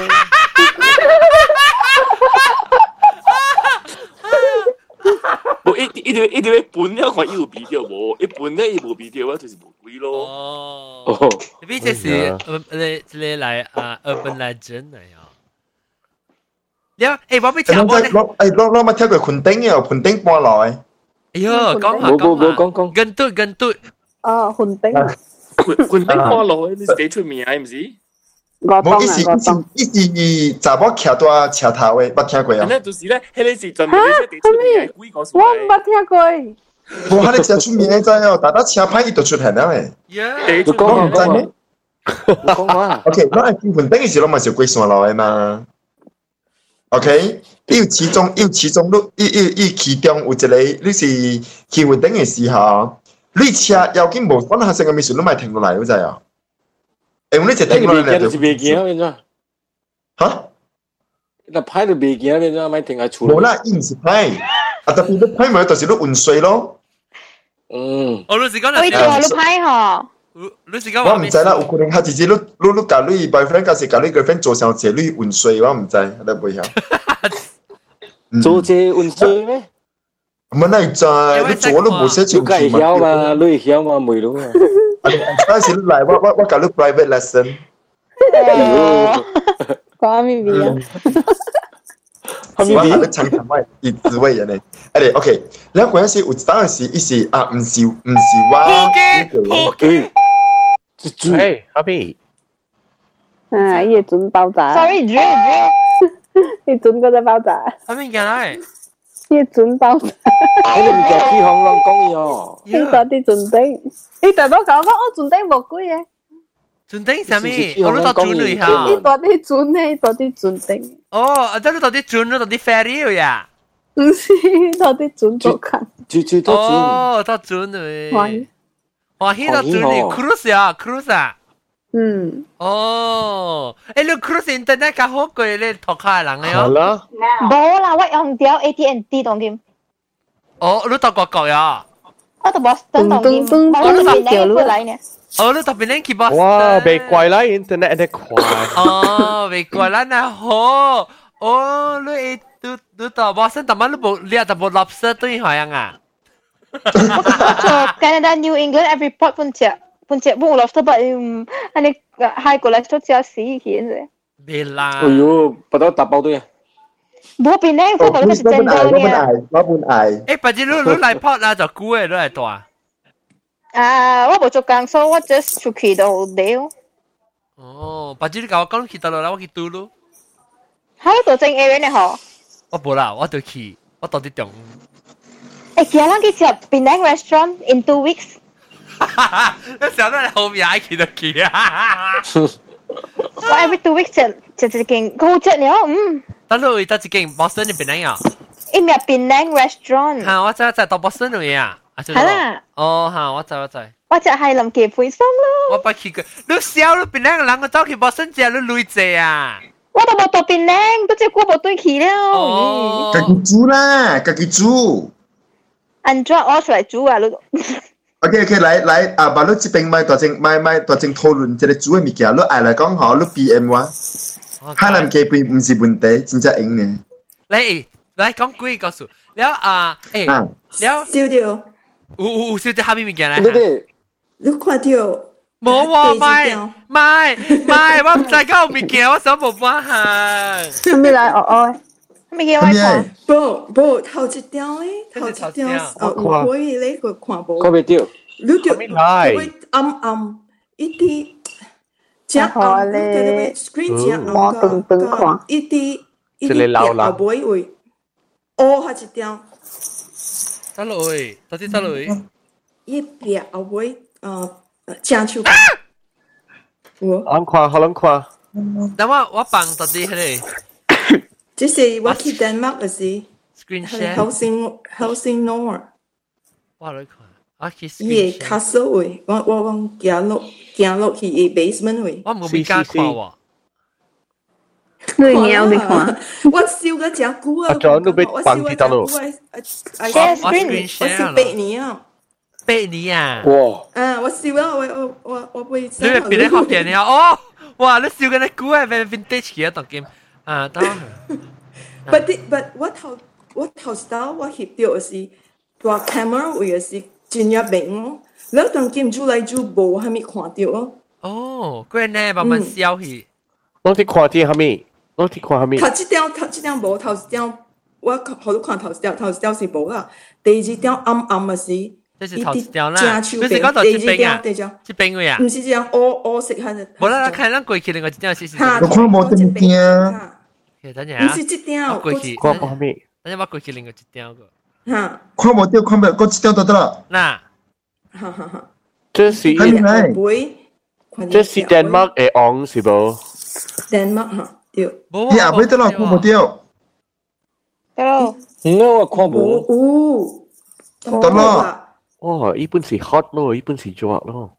我一定要搬了看伊有味道無？一搬咧伊無味道啊，就是無鬼咯。 哦，呢隻是你嚟urban legend 嚟啊。誒，我俾聽我咧。 攞咪聽過昆丁嘅，昆丁搬來。 哎呦，講跟嘟。 哦，昆丁。 昆丁搬落去，你幾出名係唔是？ 冇一時查某徛在車頭嘅，捌聽過啊？ 咧就是咧，迄個是專門啲地出名鬼故事。 我唔捌聽過。 冇，迄個車出名真哦，但係車牌伊就出現啦誒。 你講啊 ？OK， 我係見昆丁嘅時，我咪是過線路嘅嘛。OK， 要其中其中有一個，你是去雲頂嘅時候，你車要緊無可能發生嘅事，你咪停落嚟，你知啊？因為你就停落嚟就是未見變咗。 嚇？ 那拍就未見變咗，咪停喺厝。 冇啦，伊唔是拍，啊特別你拍咪就是你運水咯。 嗯。 我老實講， 我做你拍嗬。 你是講我唔知啦，有可能佢直接你教你 boyfriend，還是教你 girlfriend 做上車，你運水，我唔知，你唔會曉。 做這運水咩？ 唔係你知，你做都冇寫住。 你梗係曉嘛，你曉嘛，未咯嘛。 嗰時你嚟，我教你 private lesson。 講咩味啊？ 我係你長談話以智慧人嚟。誒，OK，你嗰陣時有當時意思啊，唔是話。 Hey, Happy。 啊，伊個準爆炸。 Sorry，伊準嗰隻爆炸。 係咩嘢嚟？ 伊個準爆炸。 你唔就起行人講伊哦。 伊嗰啲準頂，伊大多講我準頂冇鬼嘅。 準頂係咩？我都到準嚟嚇。 伊嗰啲準咧，嗰啲準頂。 哦，即係到啲準咯，到啲 ferry 呀。 唔是，到啲準做緊。 哦，到準嚟。哇，迄個準嚟 cruise 啊 ，cruise 啊。 嗯。 哦，誒，你 cruise internet 較好過你托卡人嘅哦。 係啦。 冇啦，我用掉 AT&T 當劍。 哦，你到國國呀？ 我到 Boston 當劍，我都邊嚟過嚟呢？ 哦，你到邊嚟去 Boston？ 哇，未貴啦 ，internet 得快。 哦，未貴啦，那好。哦，你到 Boston 特晚你冇特冇 lobster 對海洋啊？ 我做 Canada New England every port 半隻冇 lobster 不安尼海過來都只死起嘅。 未啦。 哎呦，不到打包對啊！ 冇邊咧，我覺得是真多呢。 我本愛。 誒，不知你嚟 port 啦，就估嘅，你嚟大。 啊，我冇做工，所以我 just 出去到地咯。 哦，不知你教我講去到啦，我去讀咯。 喺度正 area 呢嗬？ 我冇啦，我就去，我到啲中。 誒，叫人去食 Penang restaurant in 2 weeks。 你想到你後面還見到佢啊？ 我 every 2 weeks 食一間好食了， 得咯，得一間 Boston 嘅 Penang 啊？ 伊咪 Penang restaurant。 嚇，我知到 Boston 嚟啊！ 係啦。 哦，嚇，我知。 我就係臨期配送咯。 我不去過，你笑你 Penang 人個走去 Boston 食，你累濟啊！ 我都冇到 Penang，都只過冇對去了。 哦，自己煮啦，自己煮。 安怎我出來煮啊？你 OK， 來啊！把你這邊買大正討論這個煮嘅物件，你愛來講好，你 PM 我。海南雞飯唔是問題，真正用嘅。 來講幾個數，了啊，了燒掉。 有燒掉下邊物件咧？ 你看到？ 冇喎，買，我唔知講物件，我想冇辦行。 係咪來哦？ 咩叫我看？ 不，頭一條咧，頭一條有可以咧，佢看無。 看袂到。 你就會暗一啲，正暗咧 ，screen 正暗個，一啲後尾會，下一條。 得落去，到底得落去？ 一邊後尾正手。 好難看。 等我放到底迄個。 這是我去丹麥嗰時 ，screen share， Helsingør。 我來看，我去 screen share。castle 位，我行落去 basement 位。 我冇邊間看喎。 你鳥你看， 我燒個隻股啊！ 阿 John 都被放棄到咯。 screen share， 我燒8年啊 ！8年啊！ 哇！我燒啊！我會。 你係邊個學嘅哦？哇！你燒嘅啲股係 vintage 嘅當game。啊，得。 But 我頭時我翕到是大 camera 位是真入明咯，你當劍煮嚟煮無係咪看到咯？ 哦，嗰呢慢慢消去。 我哋看啲係咪？我哋看係咪？ 頭一條無，頭一條我好多看頭一條是無啦，第二條暗嘅是。 這是頭一條啦，你是講到這邊啊？這邊位啊？ 唔是這樣，我食下就。 冇啦，看咱過去另外一條是。 我看冇這邊。 等陣啊！ 唔是這條， 過去。 看冇咩？ 等陣我過去另外一條個。 嚇！ 看冇掉，看冇，嗰一條就得啦。 嗱， 這是這是丹麥嘅昂是無？ 丹麥嚇，對。 你阿妹得啦，看冇掉。 得咯。 我看冇。 得啦。 哦，伊本是 hot 咯，伊本是熱咯。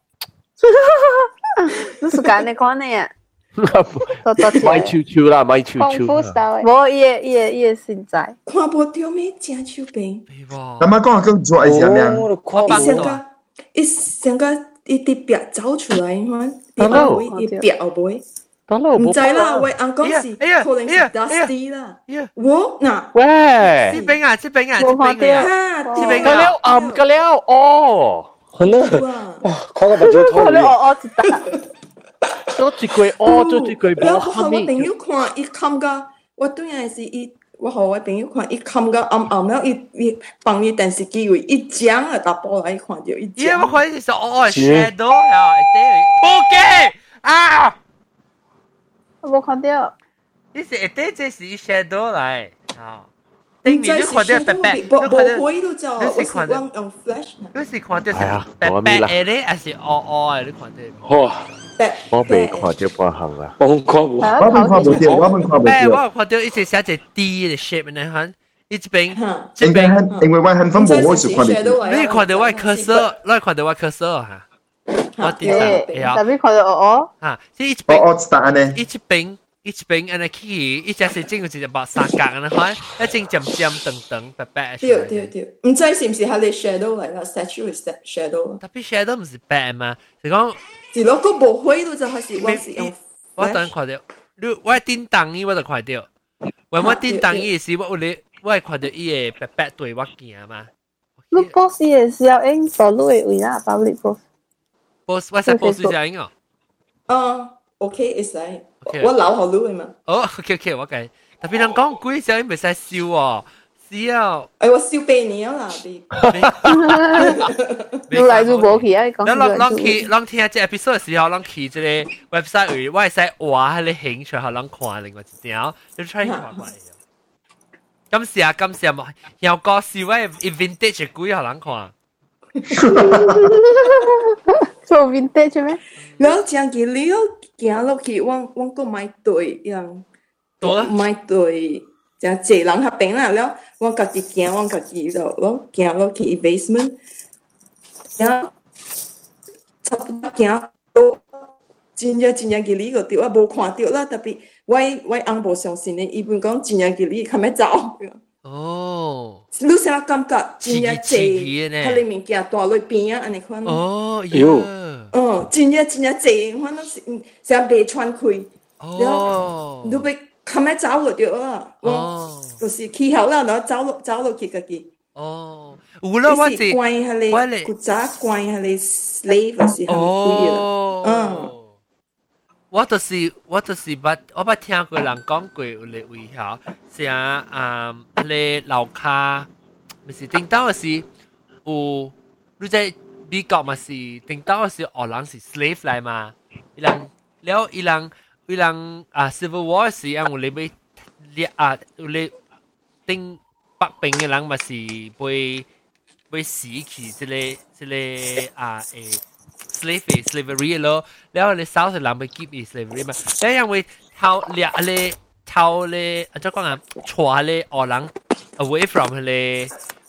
你是揀你看呢呀？ 買超超啦，買超超。 我也現在。 看無到咩正手邊？ 咁啊，講佢做係點樣？ 成個一啲壁走出來嘛，一壁後背。唔知啦，喂，阿講是可能是 dusty 啦。我嗱， 喂， 這邊啊， 這邊暗個了哦，係咯，哇，看個目睭痛。 我知道。 做一個做一個冇後我朋友看，伊冚個，我當然是伊，我和我朋友看，伊冚個暗了，伊放伊電視機位，伊將啊打波來看到伊將。 因為我看是shadow 啊，撲街啊！ 我冇看到。 你是這是 shadow 來啊？頂面你看到白白，你看到你是看到用 flash，你是看到是白白的咧，還是黑的？你看到？ 哇！我未看到半行啦， 我看唔到。 我看到一隻寫隻 D 嘅 shape 呢，看一邊， 因為我很分佈，我是看到。 你看到我咳嗽，你看到我咳嗽哈？我地上， 特別看到哦。 啊，即一邊，一邊，安尼起，一隻是整個一白三角安尼看，一整尖尖長白白。 對，唔知是唔是係你 shadow 嚟啦 ？statue 係 shadow。 特別 shadow 唔是白嘛，是講。 是咯，個無灰都就係是我是用。 我當然看到，我叮當伊我就看到，我叮當伊時我會看到伊個白白對我行嘛。 你 boss 也是要用走路的位啦，public boss。boss 我使 boss 是用哦。OK， 會使。我老好路嘛。 哦 ，OK， 我計。特別人講鬼時候，伊袂使笑哦。是啊， 我燒8年啦， 你來就無去啊！ 咱聽這 episode 嘅時候，咱去這個 website 位，我會使畫喺你興趣，互咱看另外一條，你 try 看賣。 感謝嘛，又個笑話 vintage 鬼好難看。 做 vintage 咩？ 然後將佢了行落去，我個買對樣，買對。就一人合併啦，然後我家己行，我家己就咯行落去 basement， 然後差不多行到真正嘅呢個掉啊，無看到啦，特別我翁無相信咧，伊本講真正嘅呢，看咩走？ 哦， 你啥感覺？真正濟，佢哋物件大落邊啊，安尼款。 哦，喲， 真正濟，我諗是成被穿開，然後你被。看咩走落咗啊！我就是氣候啦，然後走落去家己。 哦，有啦，我是關下你古早關下你 slave 是很貴啦。 我就是我捌聽過人講過有個位嚇，像你樓下，咪是頂到是有你在美國嘛是頂到是荷蘭是 slave 來嘛，伊人Civil War 時啊，有你被有你頂北邊嘅人嘛是被死去這個slavery 咯，然後你 South 嘅人被 keep 喺 slavery 嘛，然後因為偷咧，怎講啊，帶咧荷蘭 away from 佢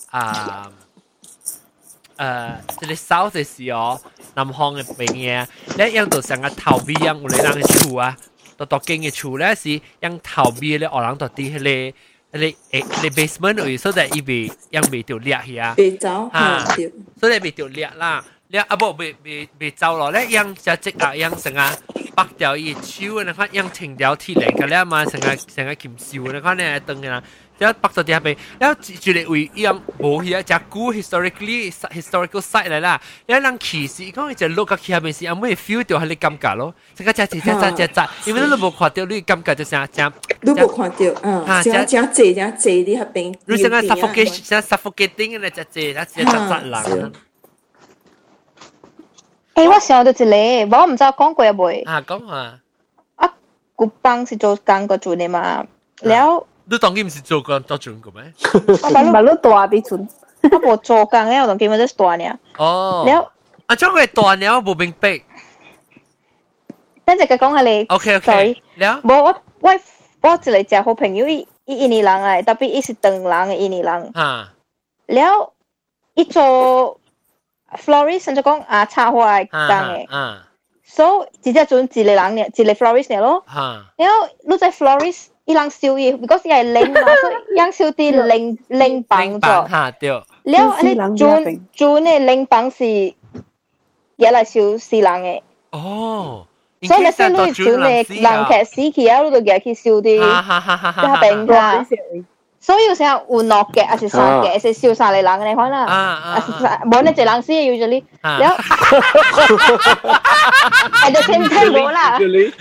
這個 South 嘅時候。南方嘅邊嘢，咧樣就成個頭尾樣，有啲人嘅厝啊，到經嘅厝咧是樣頭尾咧，荷蘭到啲迄個 basement 位，所以伊未樣未條裂去啊， 未走啊， 所以未條裂啦，裂啊不未走落咧樣就即啊樣成個拔掉伊手，你看樣停掉鐵鏈嘅咧嘛，成個鉗燒，你看咧燈嘅啦。แล้วปักตัวเดียไปแล้วจุดวิยังโบเฮียจากกู historical site เลยล่ะแล้วนังขี่สิก็จะลูกกับขี่ไปสิยังไม่ feel เดียวให้เลยกำกัด咯这个จะ因为你冇看到你感覺就像你冇看到正濟你喺邊你成個 suffocating 咧就濟人我想到一個我唔知講過未講啊古邦是做工個做嘅嘛แล้ว你當佢唔是做過做準個咩？ 馬路大比準， 我冇做工嘅，我當佢咪係大呢。 哦， แล้ว將佢大呢，我冇明白。 等陣佢講下你。 OK， แล้ว我一個好朋友，伊印尼人啊，特別伊是唐人嘅印尼人。แล้ว伊做 florist，就講插花嘅工嘅。所以直接準一個人呢，一個 florist 呢咯。แล้ว你在 florist。伊人燒嘢 ，because 伊係零嘛，所以樣燒啲零磅咗。แล้วอันนี้จู呢零磅是嘢嚟燒死人嘅。 哦， 所以你先你จู呢人劇死去啊，你就嘢去燒啲，就係病㗎。所以有時候有落嘅，還是殺嘅，是燒殺你人嘅，你看啦。冇你一人死要咗你，แล้วat the same time 冇啦。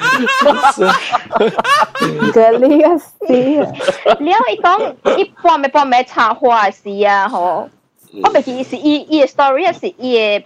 個呢個事， แล้ว伊講伊半暝插花事啊，吼，我唔記是伊嘅 story 是伊嘅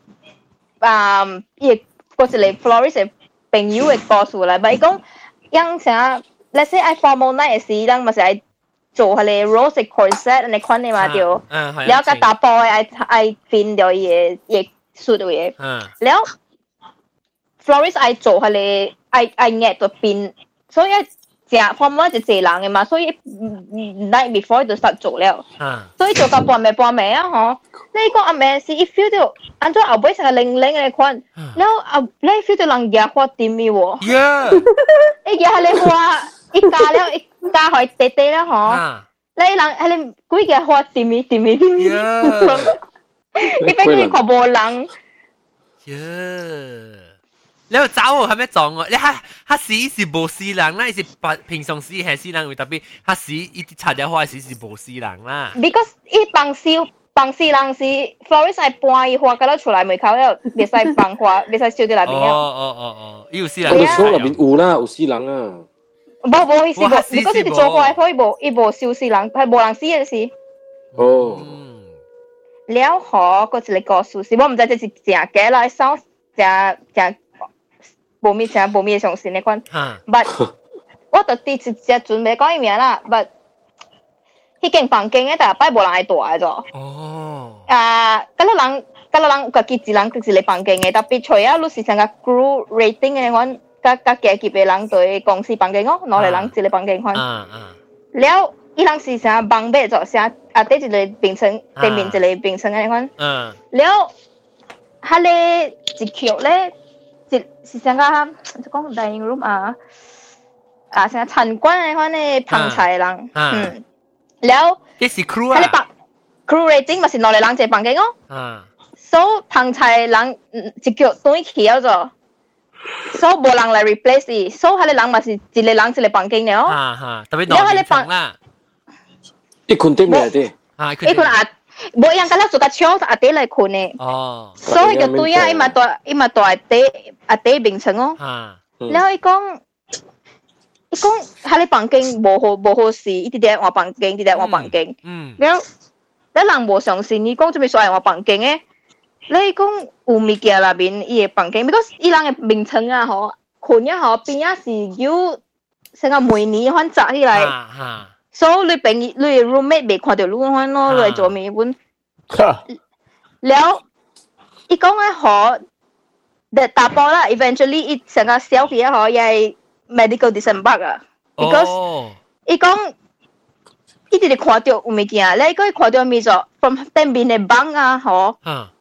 伊個一個 florist 嘅朋友嘅故事嚟，咪講樣啥 ，let's say I formal night 嘅時，人咪是係做係你 rose corset 你款嘅嘛條，แล้ว個打波係變咗嘢suit嘅，แล้ว florist 係做係你係壓到變，所以正 formal 就濟人嘅嘛，所以 night before 就實做了，所以做到半暝啊，嗬，你講阿妹是一 feel 到，按照後尾成個零嘅款，แล้ว你 feel 到人家花點嘅喎，一家係你花一家了一。加開地地啦，嗬！你人係你幾個花點咪，你俾佢全部人。 你又找係咩狀喎？你嚇死是無死人啦，是平常時係死人，特別嚇死一啲插咗花時是無死人啦。 Because 一放死人是 florist 係搬伊花，搞到出來門口了，別使放花，別使燒喺內邊了。 哦，有死人。 我哋所內邊有啦，有死人啊。 冇意思，你嗰時做過可以冇燒死人，係冇人死嘅事。 哦。 แล้วขอก็จะ個故事，我唔知這是正嘅啦，收正冇咩相信呢款。But 我就啲直接準備講一面啦，but 迄間房間嘅，但係擺無人愛住嘅咗。 哦。 嗰個人有家己一人一個房間嘅，特別除啊，你是成個 group rating 嘅款，甲加幾個人對公司房間哦，攞嚟人一個房間款。了，伊人是成房尾咗，成第一個平層，對面一個平層嘅款。了，佢咧一橋咧，是成個講 dining room 成個參觀嘅款咧，旁菜人。了， 這是 crew 啊。 crew rating 咪是攞嚟人一個房間哦。所以旁菜人一腳對起咗咗，所以無人來 replace 伊，所以佢哋人咪是一個人一個房間了。 特別攞平層啦。 一群對面啲。 一群無樣個咧做個窗阿爹來困嘅。 哦。 所以就對啊，伊嘛大阿爹平層哦。然後伊講佢哋房間無好事，一直喺我房間，一直喺我房間。然後人無相信，伊講做咩所謂我房間嘅？你講有物件內面伊個房間 ，because 伊人個名稱啊，嗬，困啊，嗬，邊啊是有成個每年翻摘起來，所以你平你 roommate 未看到你翻咯，你做咩本？了，伊講嘅嗬，大波啦 ，eventually 伊成個小氣啊，嗬，又係 medical disembark 啊 ，because 伊講。伊直直看到有物件，你講伊看到咩咗 ？from 對面嘅房啊，嗬。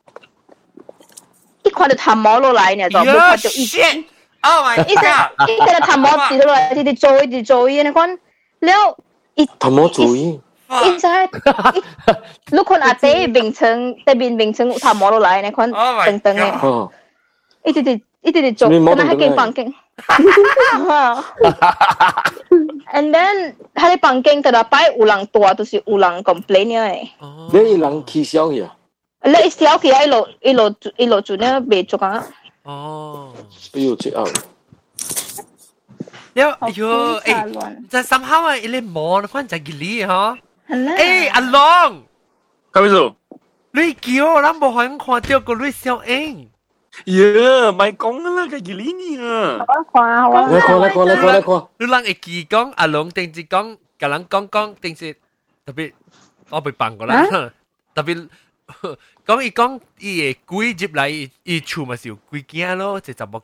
伊看到痰毛落來呢，就冇看到伊。 Oh my god！ 伊睇到痰毛跌落來，一直做伊，你講，了伊。 痰毛做伊。 伊在，你看阿爹名稱，對面名稱有痰毛落來，你講等等嘅。伊直直做，咁樣喺間房間。And then 佢哋房間特擺有人多，就是有人 complain 嘅。 你有人起笑去啊？ 你小氣一路做呢未做啊？ 哦， 哎呦，這樣。 喲，誒，就 somehow 啊，你摸可能就係你嗬。誒，阿龍， 咁樣你叫咱無可能看到個女小英。 呀，咪講啦，佢幾年啊？ 來看。 你人會記講阿龍定是講，甲人講定是特別，我未辦過啦。特別講伊講伊嘅鬼入來，伊厝咪是有鬼驚咯，就冇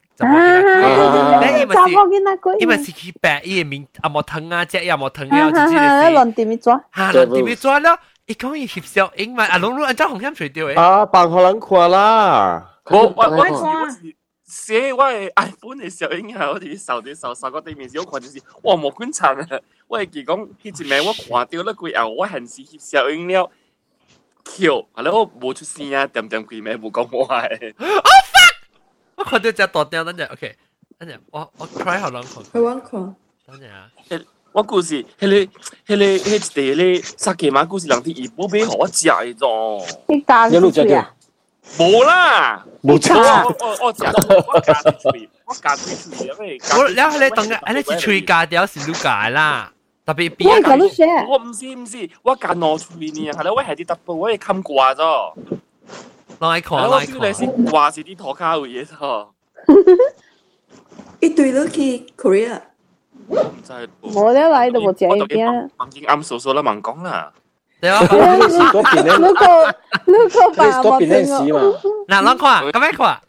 伊咪是去白伊嘅面阿冇疼啊，隻也冇疼了，就亂點樣抓？ 亂點樣抓咯？伊講伊翕小英嘛，阿龍你按照紅險垂掉誒。 啊，辦互人看啦。 我寫我係 iPhone 嘅小英啊，我哋掃個對面時，我看就是哇冇觀察啊！我係記講迄一名我看到咧佢後，我係時翕小英了，橋，後來我冇出聲啊，點佢名冇講我係。 Oh fuck！我看到隻大雕，等陣 ，OK， 等陣，我 try 下人看。 去揾看。 等陣啊！ 我故事，迄沙琪瑪故事，人哋二寶俾我食嘅啫。 你加入去啊？ 冇啦， 冇錯。 我加啲嘴，因為我แล้ว你當嘅，你是嘴加掉是錄解啦，特別邊一個都寫。 我唔是，我加攞嘴呢，係啦，我係啲 double，我係冚掛咗。 來看， 我 feel 你是掛是啲拖卡嘅嘢啫。 一對都去 Korea。 真係冇得來都冇食一啲。 已經啱數數啦，盲講啦。 對啊， 如果把我整個，嗱，啷看？咁樣看？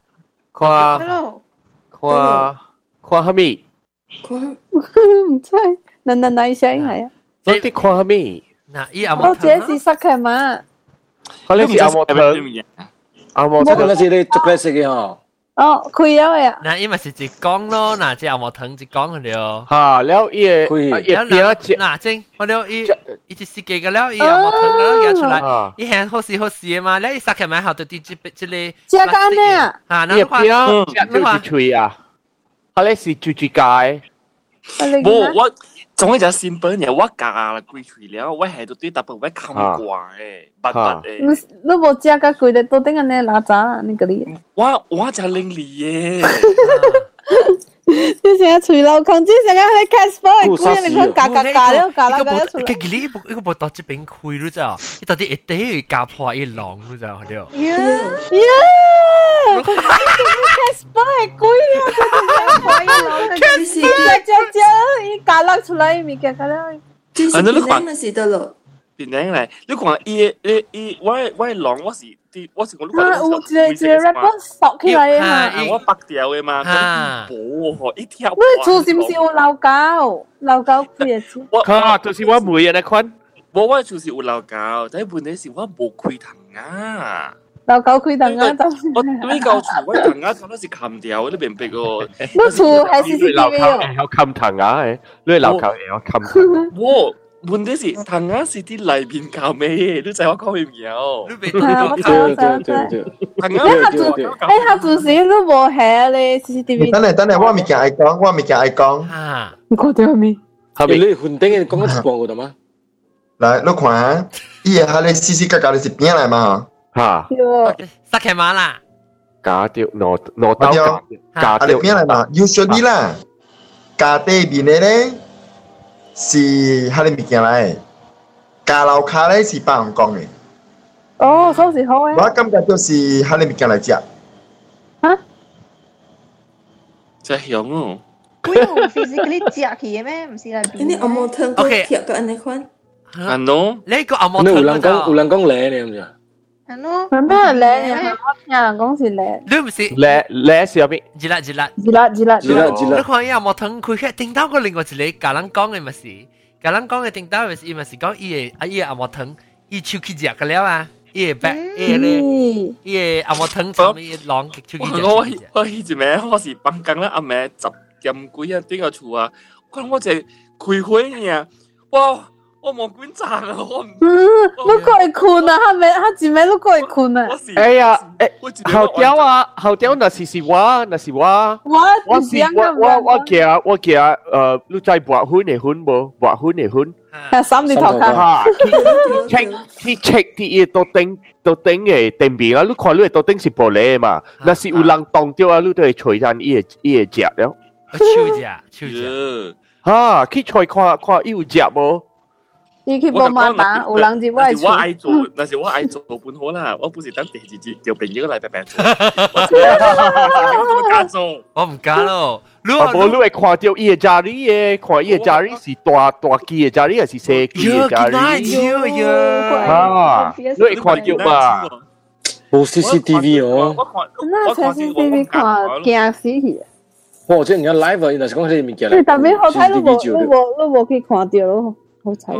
看下面？ 唔知，嗱聲係啊。 你啲看下面？ 嗱，依阿莫， 這是沙克嘛？ 我呢是阿莫湯，阿莫湯嗰陣時你逐個食嘅嗬。 哦，開咗呀！ 嗱，因為是一講咯，嗱，即係冇藤一講佢了。 嚇，了伊嗱，正我了伊只設計嘅了，伊又冇藤嘅了，出來，伊係好事嘅嘛，咧伊殺起埋後就啲即個。 隻間咩啊？ 嚇，嗱， 邊隻吹啊？佢咧是最界。 我總之就simple嘢，我加啦貴脆了，我係都對特別我冚掛嘅，白嘅。 你冇食個貴的，都等下你拿咋你嗰啲？ 我就拎你嘅。 你成日隨流空，即成日喺 Casper 貴，你看價了，價出來。 佢呢一個冇到這邊貴咗咋？你到底一啲價破一浪咗咋？係了。Casper 係貴啊！ Casper 一價甩出來，咪價啦。 就是平安的時得咯。 變靚嚟，你講我係狼，我是講你講有一個 rapper 索起來啊！ 我白掉嘅嘛，冇一條。 你厝是唔是有老狗？老狗開嘅錢？ 就是我每日嚟看。 我厝是有老狗，但係問題是我冇開藤啊。 老狗開藤啊！ 我呢嚿厝我藤啊，都是砍掉，你明唔明個？ 你厝係 CCTV 有砍藤啊？你老狗有砍藤？ 我問題是藤啊是啲裏邊搞咩？你知我講咩嘢？你別對。 藤啊， 下做事都冇係你 CCTV。 等陣，我未見愛講。 你講啲咩？ 後面你混頂嘅講一半個嘛？ 來，你看，伊個喺你死死格格你是邊來嘛？ 嚇， 塞開馬啦， 假掉攞刀假掉邊來嘛？Usually 啦，假底邊嘅咧是喺你物件來，假樓卡咧是百人講嘅。 哦，所以好誒。 我感覺就是喺你物件來食。 嚇？ 真香哦！ 佢唔是嗰啲食去嘅咩？唔是嚟邊？ 你阿毛湯個貼個安尼款。 啊喏， 你個阿毛湯有人講靚你咁樣。 係咯。 係咩靚嘅？有人講是靚。 你唔是靚是入邊？ 熱辣。 你看阿毛湯佢嘅頂到個另外一個家人講嘅咪是，家人講嘅頂到咪是，伊咪是講伊個阿毛湯，伊手去食嘅了啊。伊個白，伊個阿毛湯上面浪手去食。 我以前咩？我是幫工啦，阿妹10點幾啊，點個厝啊？我只開會呢，哇！我冇觀察啊，我唔。 你過嚟困啊？係咪？佢前面都過嚟困啊？ 哎呀，後屌那是我。我驚你在畫婚嘅婚無？畫婚嘅婚。 係三年頭卡。 去 check 啲嘢到頂嘅電邊啊！你看你到頂是玻璃嘛？那是有人當掉啊！你都係吹緊伊個隻了。 手隻。 嚇，去吹看伊有隻無？ 你去幫媽打，有人就愛做。 但是我愛做本好啦，我本是等第二節就朋友嚟白白做。 我唔敢咯。 你會看到伊個家裡嘅，看伊個家裡是大機嘅家裡，還是細機嘅家裡？啊，你會看到嘛？ 冇 CCTV 哦。 那 CCTV 看驚死去。 我即係而家 live 啊，原來是講呢啲物件嚟。 你特別好睇，你冇去看到咯。好彩。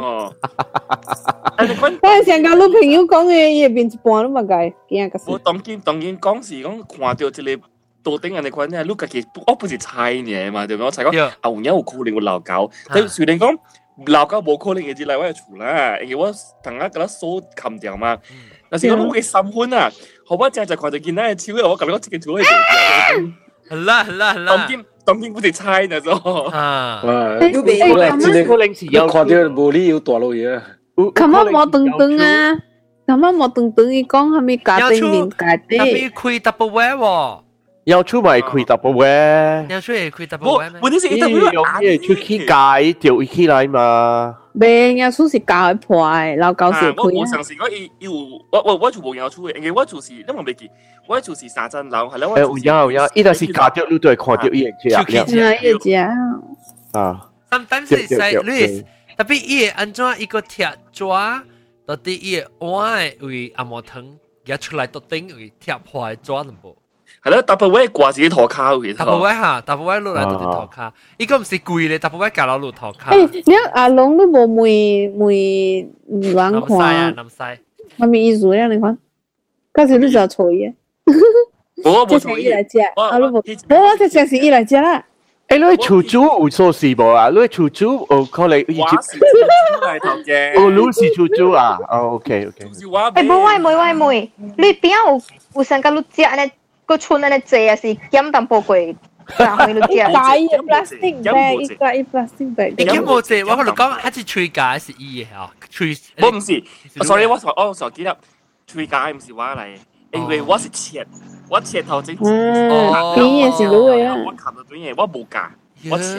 我上個女朋友講嘅嘢變一半都冇計，驚個事。 我當然講是講看到一個到頂人哋款咧，你家己我不是猜呢嘛，對唔對？我猜講後日有可能有老狗，但雖然講老狗冇可能會入來我嘅厝啦，因為我同我嗰手冚掉嘛。但是講我嘅心款啊，好我正就看到見到嘅超嘅，我感覺我自己做嘅嘢。 係啦。 當然不是猜呢咗。 啊， 有看到無理由大路嘢。 琴晚冇頓啊，琴晚冇頓伊講係咪家庭面家庭？ 特別開 double way 喎。 要出咪開 double way？ 要出嚟開 double way 咩？ 問題是用嘢出去解掉起來嘛？ 未，要出是教佢破嘅，老狗是開。 我上次我就冇要出嘅，因為我就是因為未記。我就是沙鎮樓，係啦。 有，伊就是假掉，你都係看到伊個隻。啊。 Sometimes it's like this，特別伊個安怎一個貼紙，到底伊個碗為阿毛湯夾出來到頂為貼破嘅紙都冇。 係啦，大部位掛自己塗卡嘅。 大部位嚇，大部位落來都係塗卡。伊個唔是貴咧，大部位夾落落塗卡。 誒，你阿龍都冇梅亂看。 南西。 我咪意思咧，你看，嗰時你就錯嘢。 我冇錯嘢嚟食，我就正是伊嚟食啦。 誒，你厝主有做事無啊？你厝主有可能我是厝主嚟頭嘅。 哦，你是厝主啊？哦 ，OK。 誒，冇妹，你邊有成個你食呢個村呢蔗啊？是減淡薄貴，然後你食。 假嘅 plastic bag，一個 plastic bag。 你減冇蔗，我可能講係一吹假是伊嘅嚇，吹。 我唔是 ，sorry， 我記得吹假唔是我嚟。因為我是切頭整。 哦，邊嘢是攞嘅啦。 我冚到邊嘢，我冇夾，我切。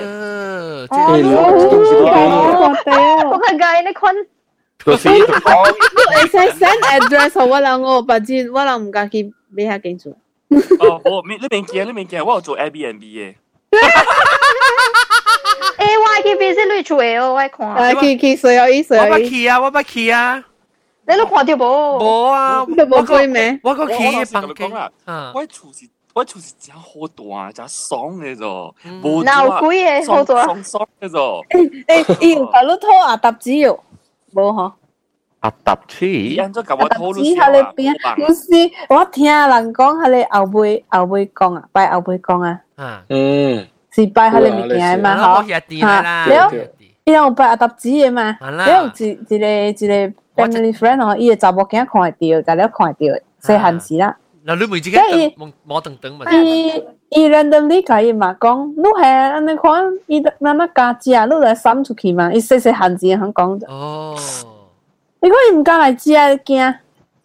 我看解你看。 就是你會使 send address 我人我把錢，我人唔敢去俾下警署。 哦，你未見，我有做 Airbnb 嘅。 誒，我愛去 visit 你厝嘅哦，我看。 去水有意思。 我捌去啊，我捌去啊。 你都看到無？ 無啊， 你無去咩？ 我個去嘅房間啊。我厝是真好大，真爽嘅啫。 冇貴嘅好大。 爽嘅啫。 伊有甲你拖阿搭子喲，無吼？ 阿搭子， 按咗甲我討論下咧邊，有時我聽人講下咧後尾講啊，拜後尾講啊。是拜下咧物件嘛，吼。了，伊有拜阿搭子嘅嘛，了一個 family friend 吼，伊個查某囝看會到，就了看會到，細漢時啦。 嗱，你每自己摸等嘛。 伊 randomly 甲伊嘛講，你係安尼看，伊慢慢加食，你來閃出去嘛，伊細漢時響講。哦。你講伊唔敢來食，驚。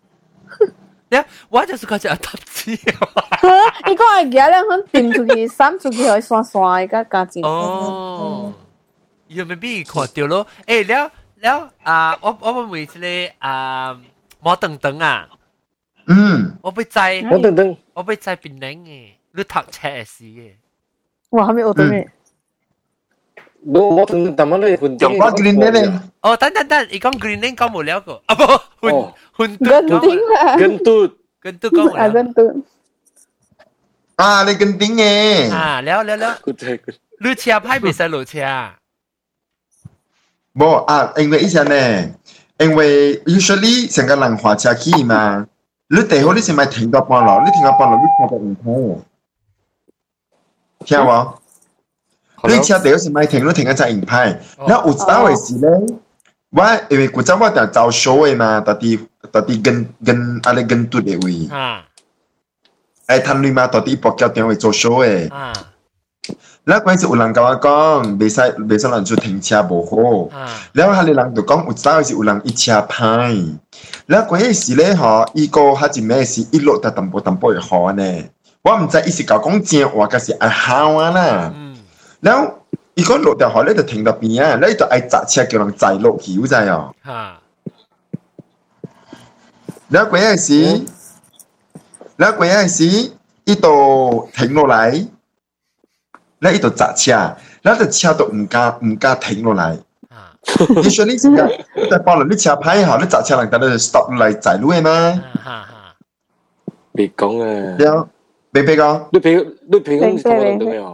我就是講只阿搭子。 伊講會驚咧，響掂出去，閃出去會散散，伊甲加錢。 哦。伊咪俾看到咯，了啊！我問一個摸等啊。我被摘，我被摘檳榔嘅，你讀冊嘅事嘅。 哇，係咪學到咩？ 我等但係咧， 用我 green 咧。 哦，等，你講 green 咧講冇了個，啊不，混跟嘟講冇了。 跟嘟。 啊，你跟丁嘅。 啊，了。你車牌未使落車。 冇啊，因為以前呢，因為 usually 成個人滑車去嘛。你最好你先咪停到半路，你停到半路你車就唔開。聽冇？你車最好先咪停，你停一隻唔開。然後有陣回事咧，我因為古早我就做 show 嘅嘛，特啲跟阿你跟嘟嘅位。誒，攤你嘛，特啲博腳點會做 show 嘅。แล้วก็สิอุลังกว่าก้องเบซ่ลันจุ停車บ่好แล้วหาลังตัวก้องอุตส่าห์สิอุลังอี車牌แล้วก็สิ咧ฮออีโกหาจิแม่สิอีโลตะตำบ่อีฮอแน่ว่ามันจะอีสิกาก้องเจียว่าก็สิไอ้ฮาวน่ะแล้วอีก็โลตะฮอเลยจะ停到邊啊แล้วอีตัวไอ้จัด車叫人載落去有知啊แล้วก็สิอีตัว停落嚟แล้วอีตัวจัดเชียแล้วแต่เชียตัว唔加停落嚟usually 是噶แต่พอเราเชีย牌好你จัดเชียหลังจากนั้น stop 嚟จ่ายรู้ไหม別講啊เดี๋ยว別講你平時同我諗到咩啊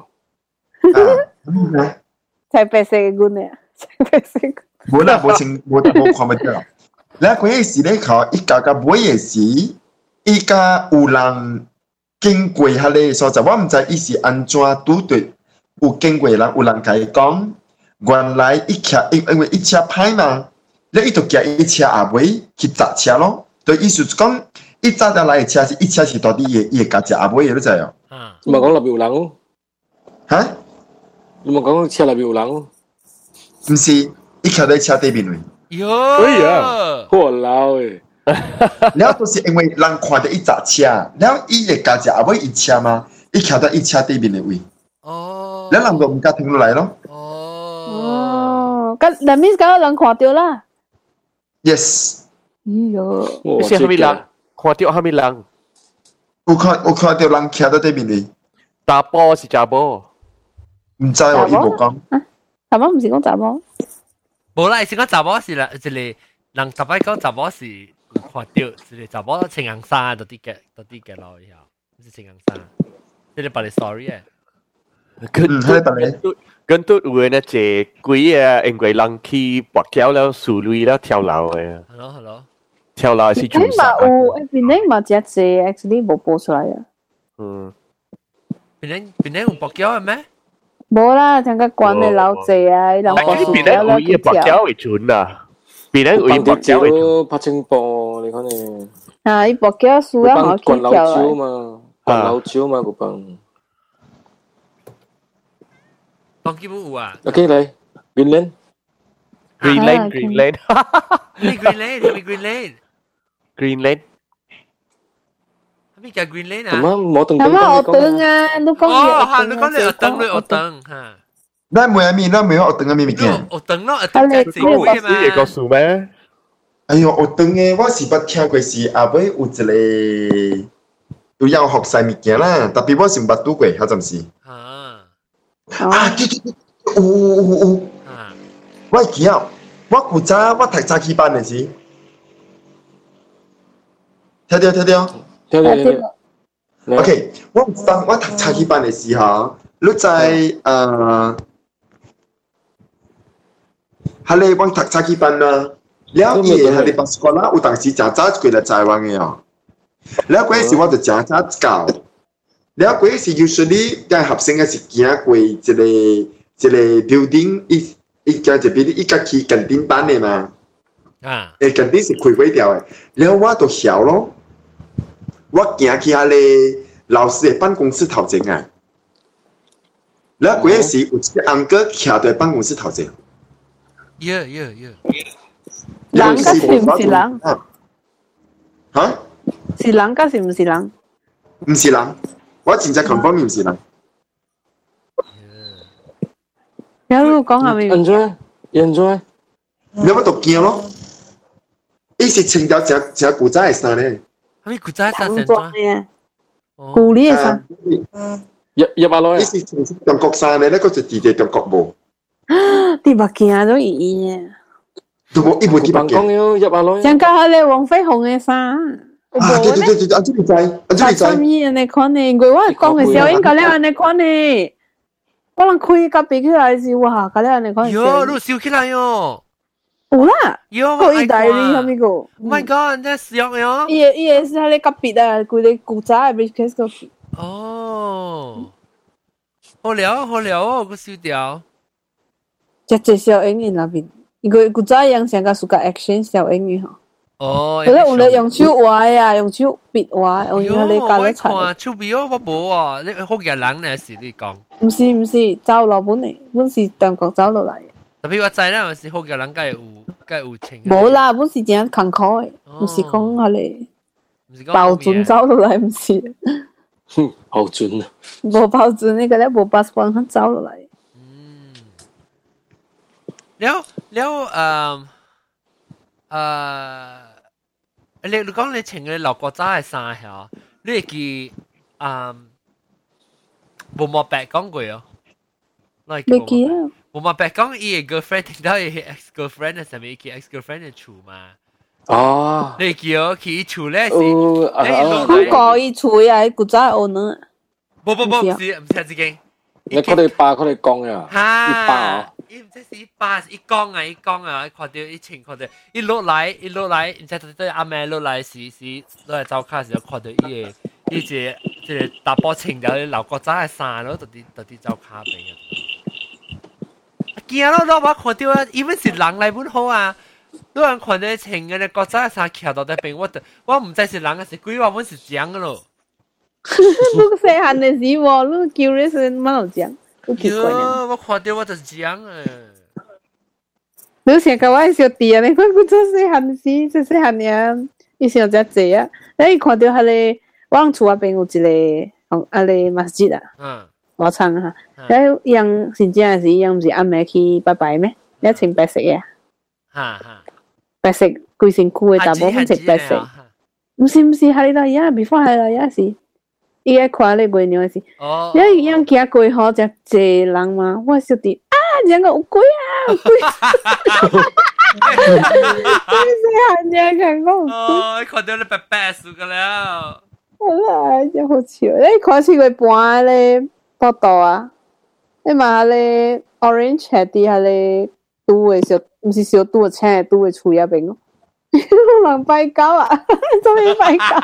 才白色嘅官咧才白色冇啦冇看唔到แล้ว嗰陣時咧เขาอีกาบ่嘢時อีกา有人經過下咧，所以我唔知伊是安怎拄對有經過人，有人甲伊講，原來因為一車歹嘛，你伊就叫一車後尾去砸車咯。對，意思講，一早就來嘅車是一車是到底伊會加隻後尾嘅，你知哦？ 你咪講入邊有人咯？ 嚇？ 你咪講車入邊有人咯？ 唔是，伊徛喺車對面位。 喲！ 哎呀，好老誒！ แล้วตัวสิเองเว้ยลังควาจะอีจัดเชียแล้วอีเอกาจะเอาไว้อีเชียมาอีแค่ได้อีเชียตีบินเลยวิแล้วลังก็มันก็ถึงไหนแล้วก็แต่มิสก็ลังควาเดียวล่ะ yes ไม่ใช่ฮามิลังควาเดียวฮามิลังอุควาเดียวลังแค่ได้บินเลยตาโปสิจ่าโบ唔知喎อีบอก講查某唔是講查某冇啦是講查某是啦即係人特別講查某是看到是查某穿紅衫嗰啲嘅咯，以後唔是穿紅衫，即係把你 sorry 嘅。 跟都有呢隻鬼啊，因為人去拔橋了，樹類了跳樓嘅。 係咯。 跳樓是做啥？ 邊呢嘛只隻 actually 冇播出來啊。 邊呢有拔橋嘅咩？ 冇啦，聽個關嘅老謝啊，人拔樹了了去跳。為準啊！邊咧會拔橋嘅？ 拍清波，你看你。 啊！伊拔橋樹啊，好起跳嘛，灌老蕉嘛，個幫。 當基本有啊。 OK 嚟 ，Greenland。 Greenland。 咩 Greenland？Greenland。咩叫 Greenland 啊？ 咁啊，冇等。 咁啊，我等啊，你講哦，嚇，你講你我等嚇。 那每一面那沒有學燈嘅咩物件？ 學燈咯，學燈係正規嘅嘛。 你個數咩？ 哎呦，學燈嘅我是捌聽過是後尾有一個有要學曬物件啦，特別我是唔捌拄過，還真是。對， 有，我記啊，我古早我讀早起班的時，聽到。OK， 我讀早起班的時候，你在喺你我讀早起班啦，了伊喺你巴斯瓜啦，有當時真早過來台灣嘅哦，了嗰時我就真早教，了嗰時 usually 嘅學生嘅是行過一個 building， 一間就 building 一間去近頂班嘅嘛，近頂是開過掉嘅，了我就曉咯。我行去下咧老師嘅辦公室頭前啊，然後嗰時有一個安哥徛在辦公室頭前。 人家是唔是人？ 嚇？ 是人家是唔是人？ 唔是人，我真正 confirm 唔是人。 有講下面。 enjoy。 你乜讀驚咯？伊是穿條正古早嘅衫咧。 你古早衫成裝嘅，古呢嘅衫， 入下來。 呢是中國衫咧，嗰個就地中國冇。 啲物件都異嘅， 都冇一部啲物件。 入下來。 像家下咧黃飛鴻嘅衫， 對，安住你知， 三衣人哋看呢，我講嘅時候應該咧人哋看呢，可能開隔壁起來時，哇，家咧人哋看。 喲，都燒起來喲。 有啦， 有意大利係咪個 ？Oh my god，真係笑喲！ 伊是喺你隔壁啊，佢哋古早嘅 business 個。 哦，好聊哦，個笑掉。 只小英語那邊，因為古早樣成個暑假 action 小英語嗬。 哦， 佢咧有咧用手畫呀，用手筆畫，用你教得齊。 我手筆我冇啊，你好嘅人咧是你講。 唔是，走落本嚟，本是中國走落嚟。 特別我知啦，有時好嘅人梗係有情。 冇啦，本是真坎坷嘅，唔是講下你包準走落嚟，唔是。 包準啊！ 冇包準呢個咧，冇把關肯走落嚟。 你講你穿嘅老國仔嘅衫係，你係記冇莫白講過哦。 你記啊？ 冇莫白講伊嘅 girlfriend 聽到伊 ex girlfriend 嘅上面，佢 ex girlfriend 嘅厝嘛。 哦。 你記哦，佢厝咧是。 佢講伊厝啊，古仔學呢？ 唔是自己。 你佢哋講呀？ 嚇！伊唔知是伊講啊！看到伊穿看到伊落來，唔知對阿妹落來時落來走卡時候看到伊個大波穿咗啲老國仔嘅衫咯，特啲走卡俾人。驚咯！我看到啊，因為是人嚟本好啊，有人看到穿嘅國仔嘅衫徛到底邊，我唔知是人嘅是鬼話，本是講嘅咯。 你細漢嘅時喎，你叫你是乜路講？ 我看到我就講啊！ 你成個我小弟啊，你看佢做細漢時，做細漢嘢，伊想只濟啊！你看到係你，我厝嗰邊有一個啊你masjid啊，我唱哈，然後樣真正是樣唔是暗暝去拜拜咩？你穿白色嘅，白色規身軀嘅，大部分穿白色。唔是，係你到呀，before 係啦呀是。伊個看你袂鳥是，你樣行過好只濟人嘛，我小弟啊，兩個有鬼啊，有鬼！你細漢看講有鬼， 哦，看到你白白樹個了， 好啦，真好笑，你看似佢搬咧報道啊，你嘛咧 orange 係啲係咧拄嘅小，唔是小拄嘅青嘅拄嘅厝入邊咯，有人拜狗啊，做咩拜狗？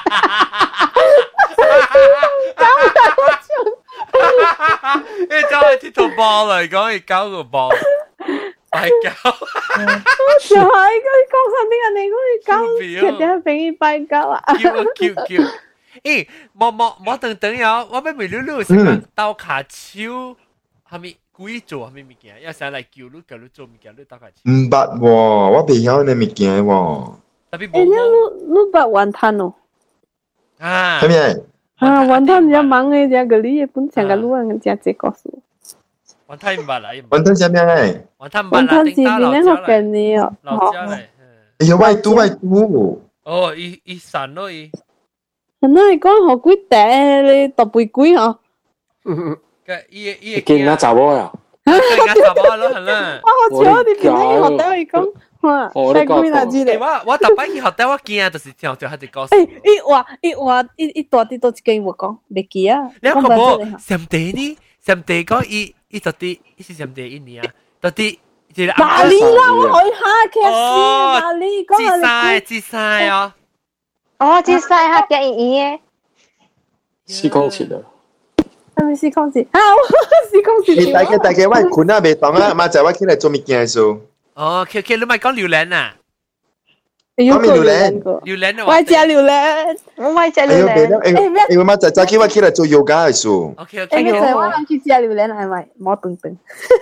你走去鐵土波嚟講，係搞個波，係搞。 就係佢講下啲人哋嗰啲狗，其實俾佢拜狗啊。 叫，誒，冇等呀，我俾未溜成個刀卡超，係咪鬼做係咪物件？有時嚟叫你做物件，你刀卡超。 唔捌喎，我未曉呢物件喎。 特別冇。你捌雲吞哦？ 啊。 係咪？ 啊，雲吞比較忙嘅，只個你本成個路人只只告訴。 雲吞唔捌啦， 雲吞係咩咧？ 雲吞唔捌啦， 是邊咧學嘅呢？ 老家嚟。 哎呀，歪嘟。 哦，伊散咯伊。 那你講學幾大你特別貴嗬？ 伊見啦查某呀。 更加查某咯，係啦。 我好笑，你邊個學得伊講？哇，太貴啦，知你。 我特擺去學得，我驚就是聽就係啲歌。 伊大啲都幾我講，未記啊。 你有冇上地呢？上地講伊就啲，伊是上地一年啊，到啲。 哪里啦？我去下劇先，哪里講自晒哦。 哦，自晒下嘅嘢。 試講詞啊。 係咪試講詞？啊，試講詞。 你大家我困啊，未當啊，媽仔我起來做物件數。 哦，K，你咪講榴蓮啊？ 講咩榴蓮？ 榴蓮啊！ 我食榴蓮，我咪食榴蓮。 因為媽仔早起我起來做 yoga 嘅數。 OK， 我諗住食榴蓮係咪？冇頓頓。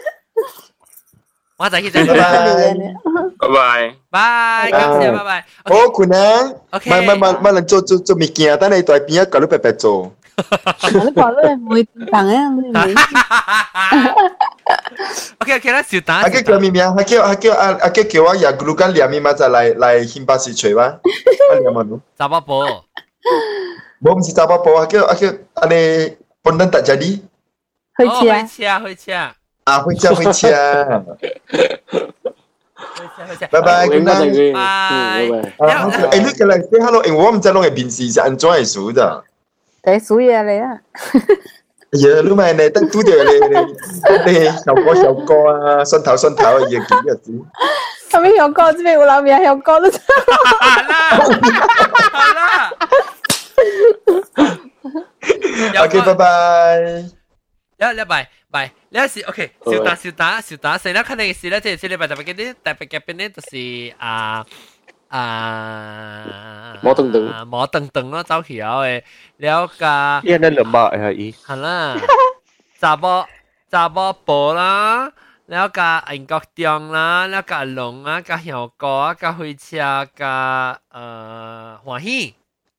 我再去再拜拜，感謝拜拜。 好困啊！咪能做物件，等你在邊一個都白白做。 你講你唔會等啊！ OK，啦，小打。 阿叫咩名？阿叫我呀，如果兩面嘛就嚟新巴士吹吧。阿兩萬咯。 查某婆。 冇唔是查某婆，阿叫你本人大家啲。 去車。 啊，回家。拜拜，good night。拜。你個嚟 say hello，我唔知你嘅面試是安怎嘅數的。 第數嘢嚟啊！ 哎呀，你咪你等拄着你小歌啊，蒜頭嘅嘢幾日子。 係咪小歌？這邊有老面小歌都。 好啦。 OK， 拜拜。 拜，呢時 OK，小打，成日看你嘅事咧，即係禮拜特別嘅呢，就是冇等咯，走起後嘅，了個， 依家兩百係伊， 係啦，查某婆啦，了個英國中啦，了個龍啊，個小哥啊，個飛車，個歡喜，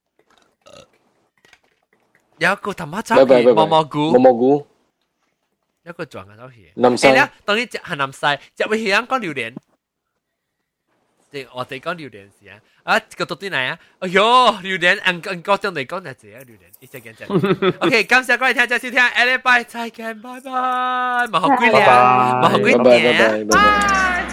了個他媽走起，蘑菇。一個撞嘅都係。 南西。 咧，當你係南西，入去香港榴蓮，即我哋講榴蓮時啊，個到底嚟啊？哎喲，榴蓮，anh có trong này có là gì啊？榴蓮，一隻見證。OK， 感謝各位聽眾收聽，下禮拜再見，拜拜，冇學幾年，冇學幾年，拜。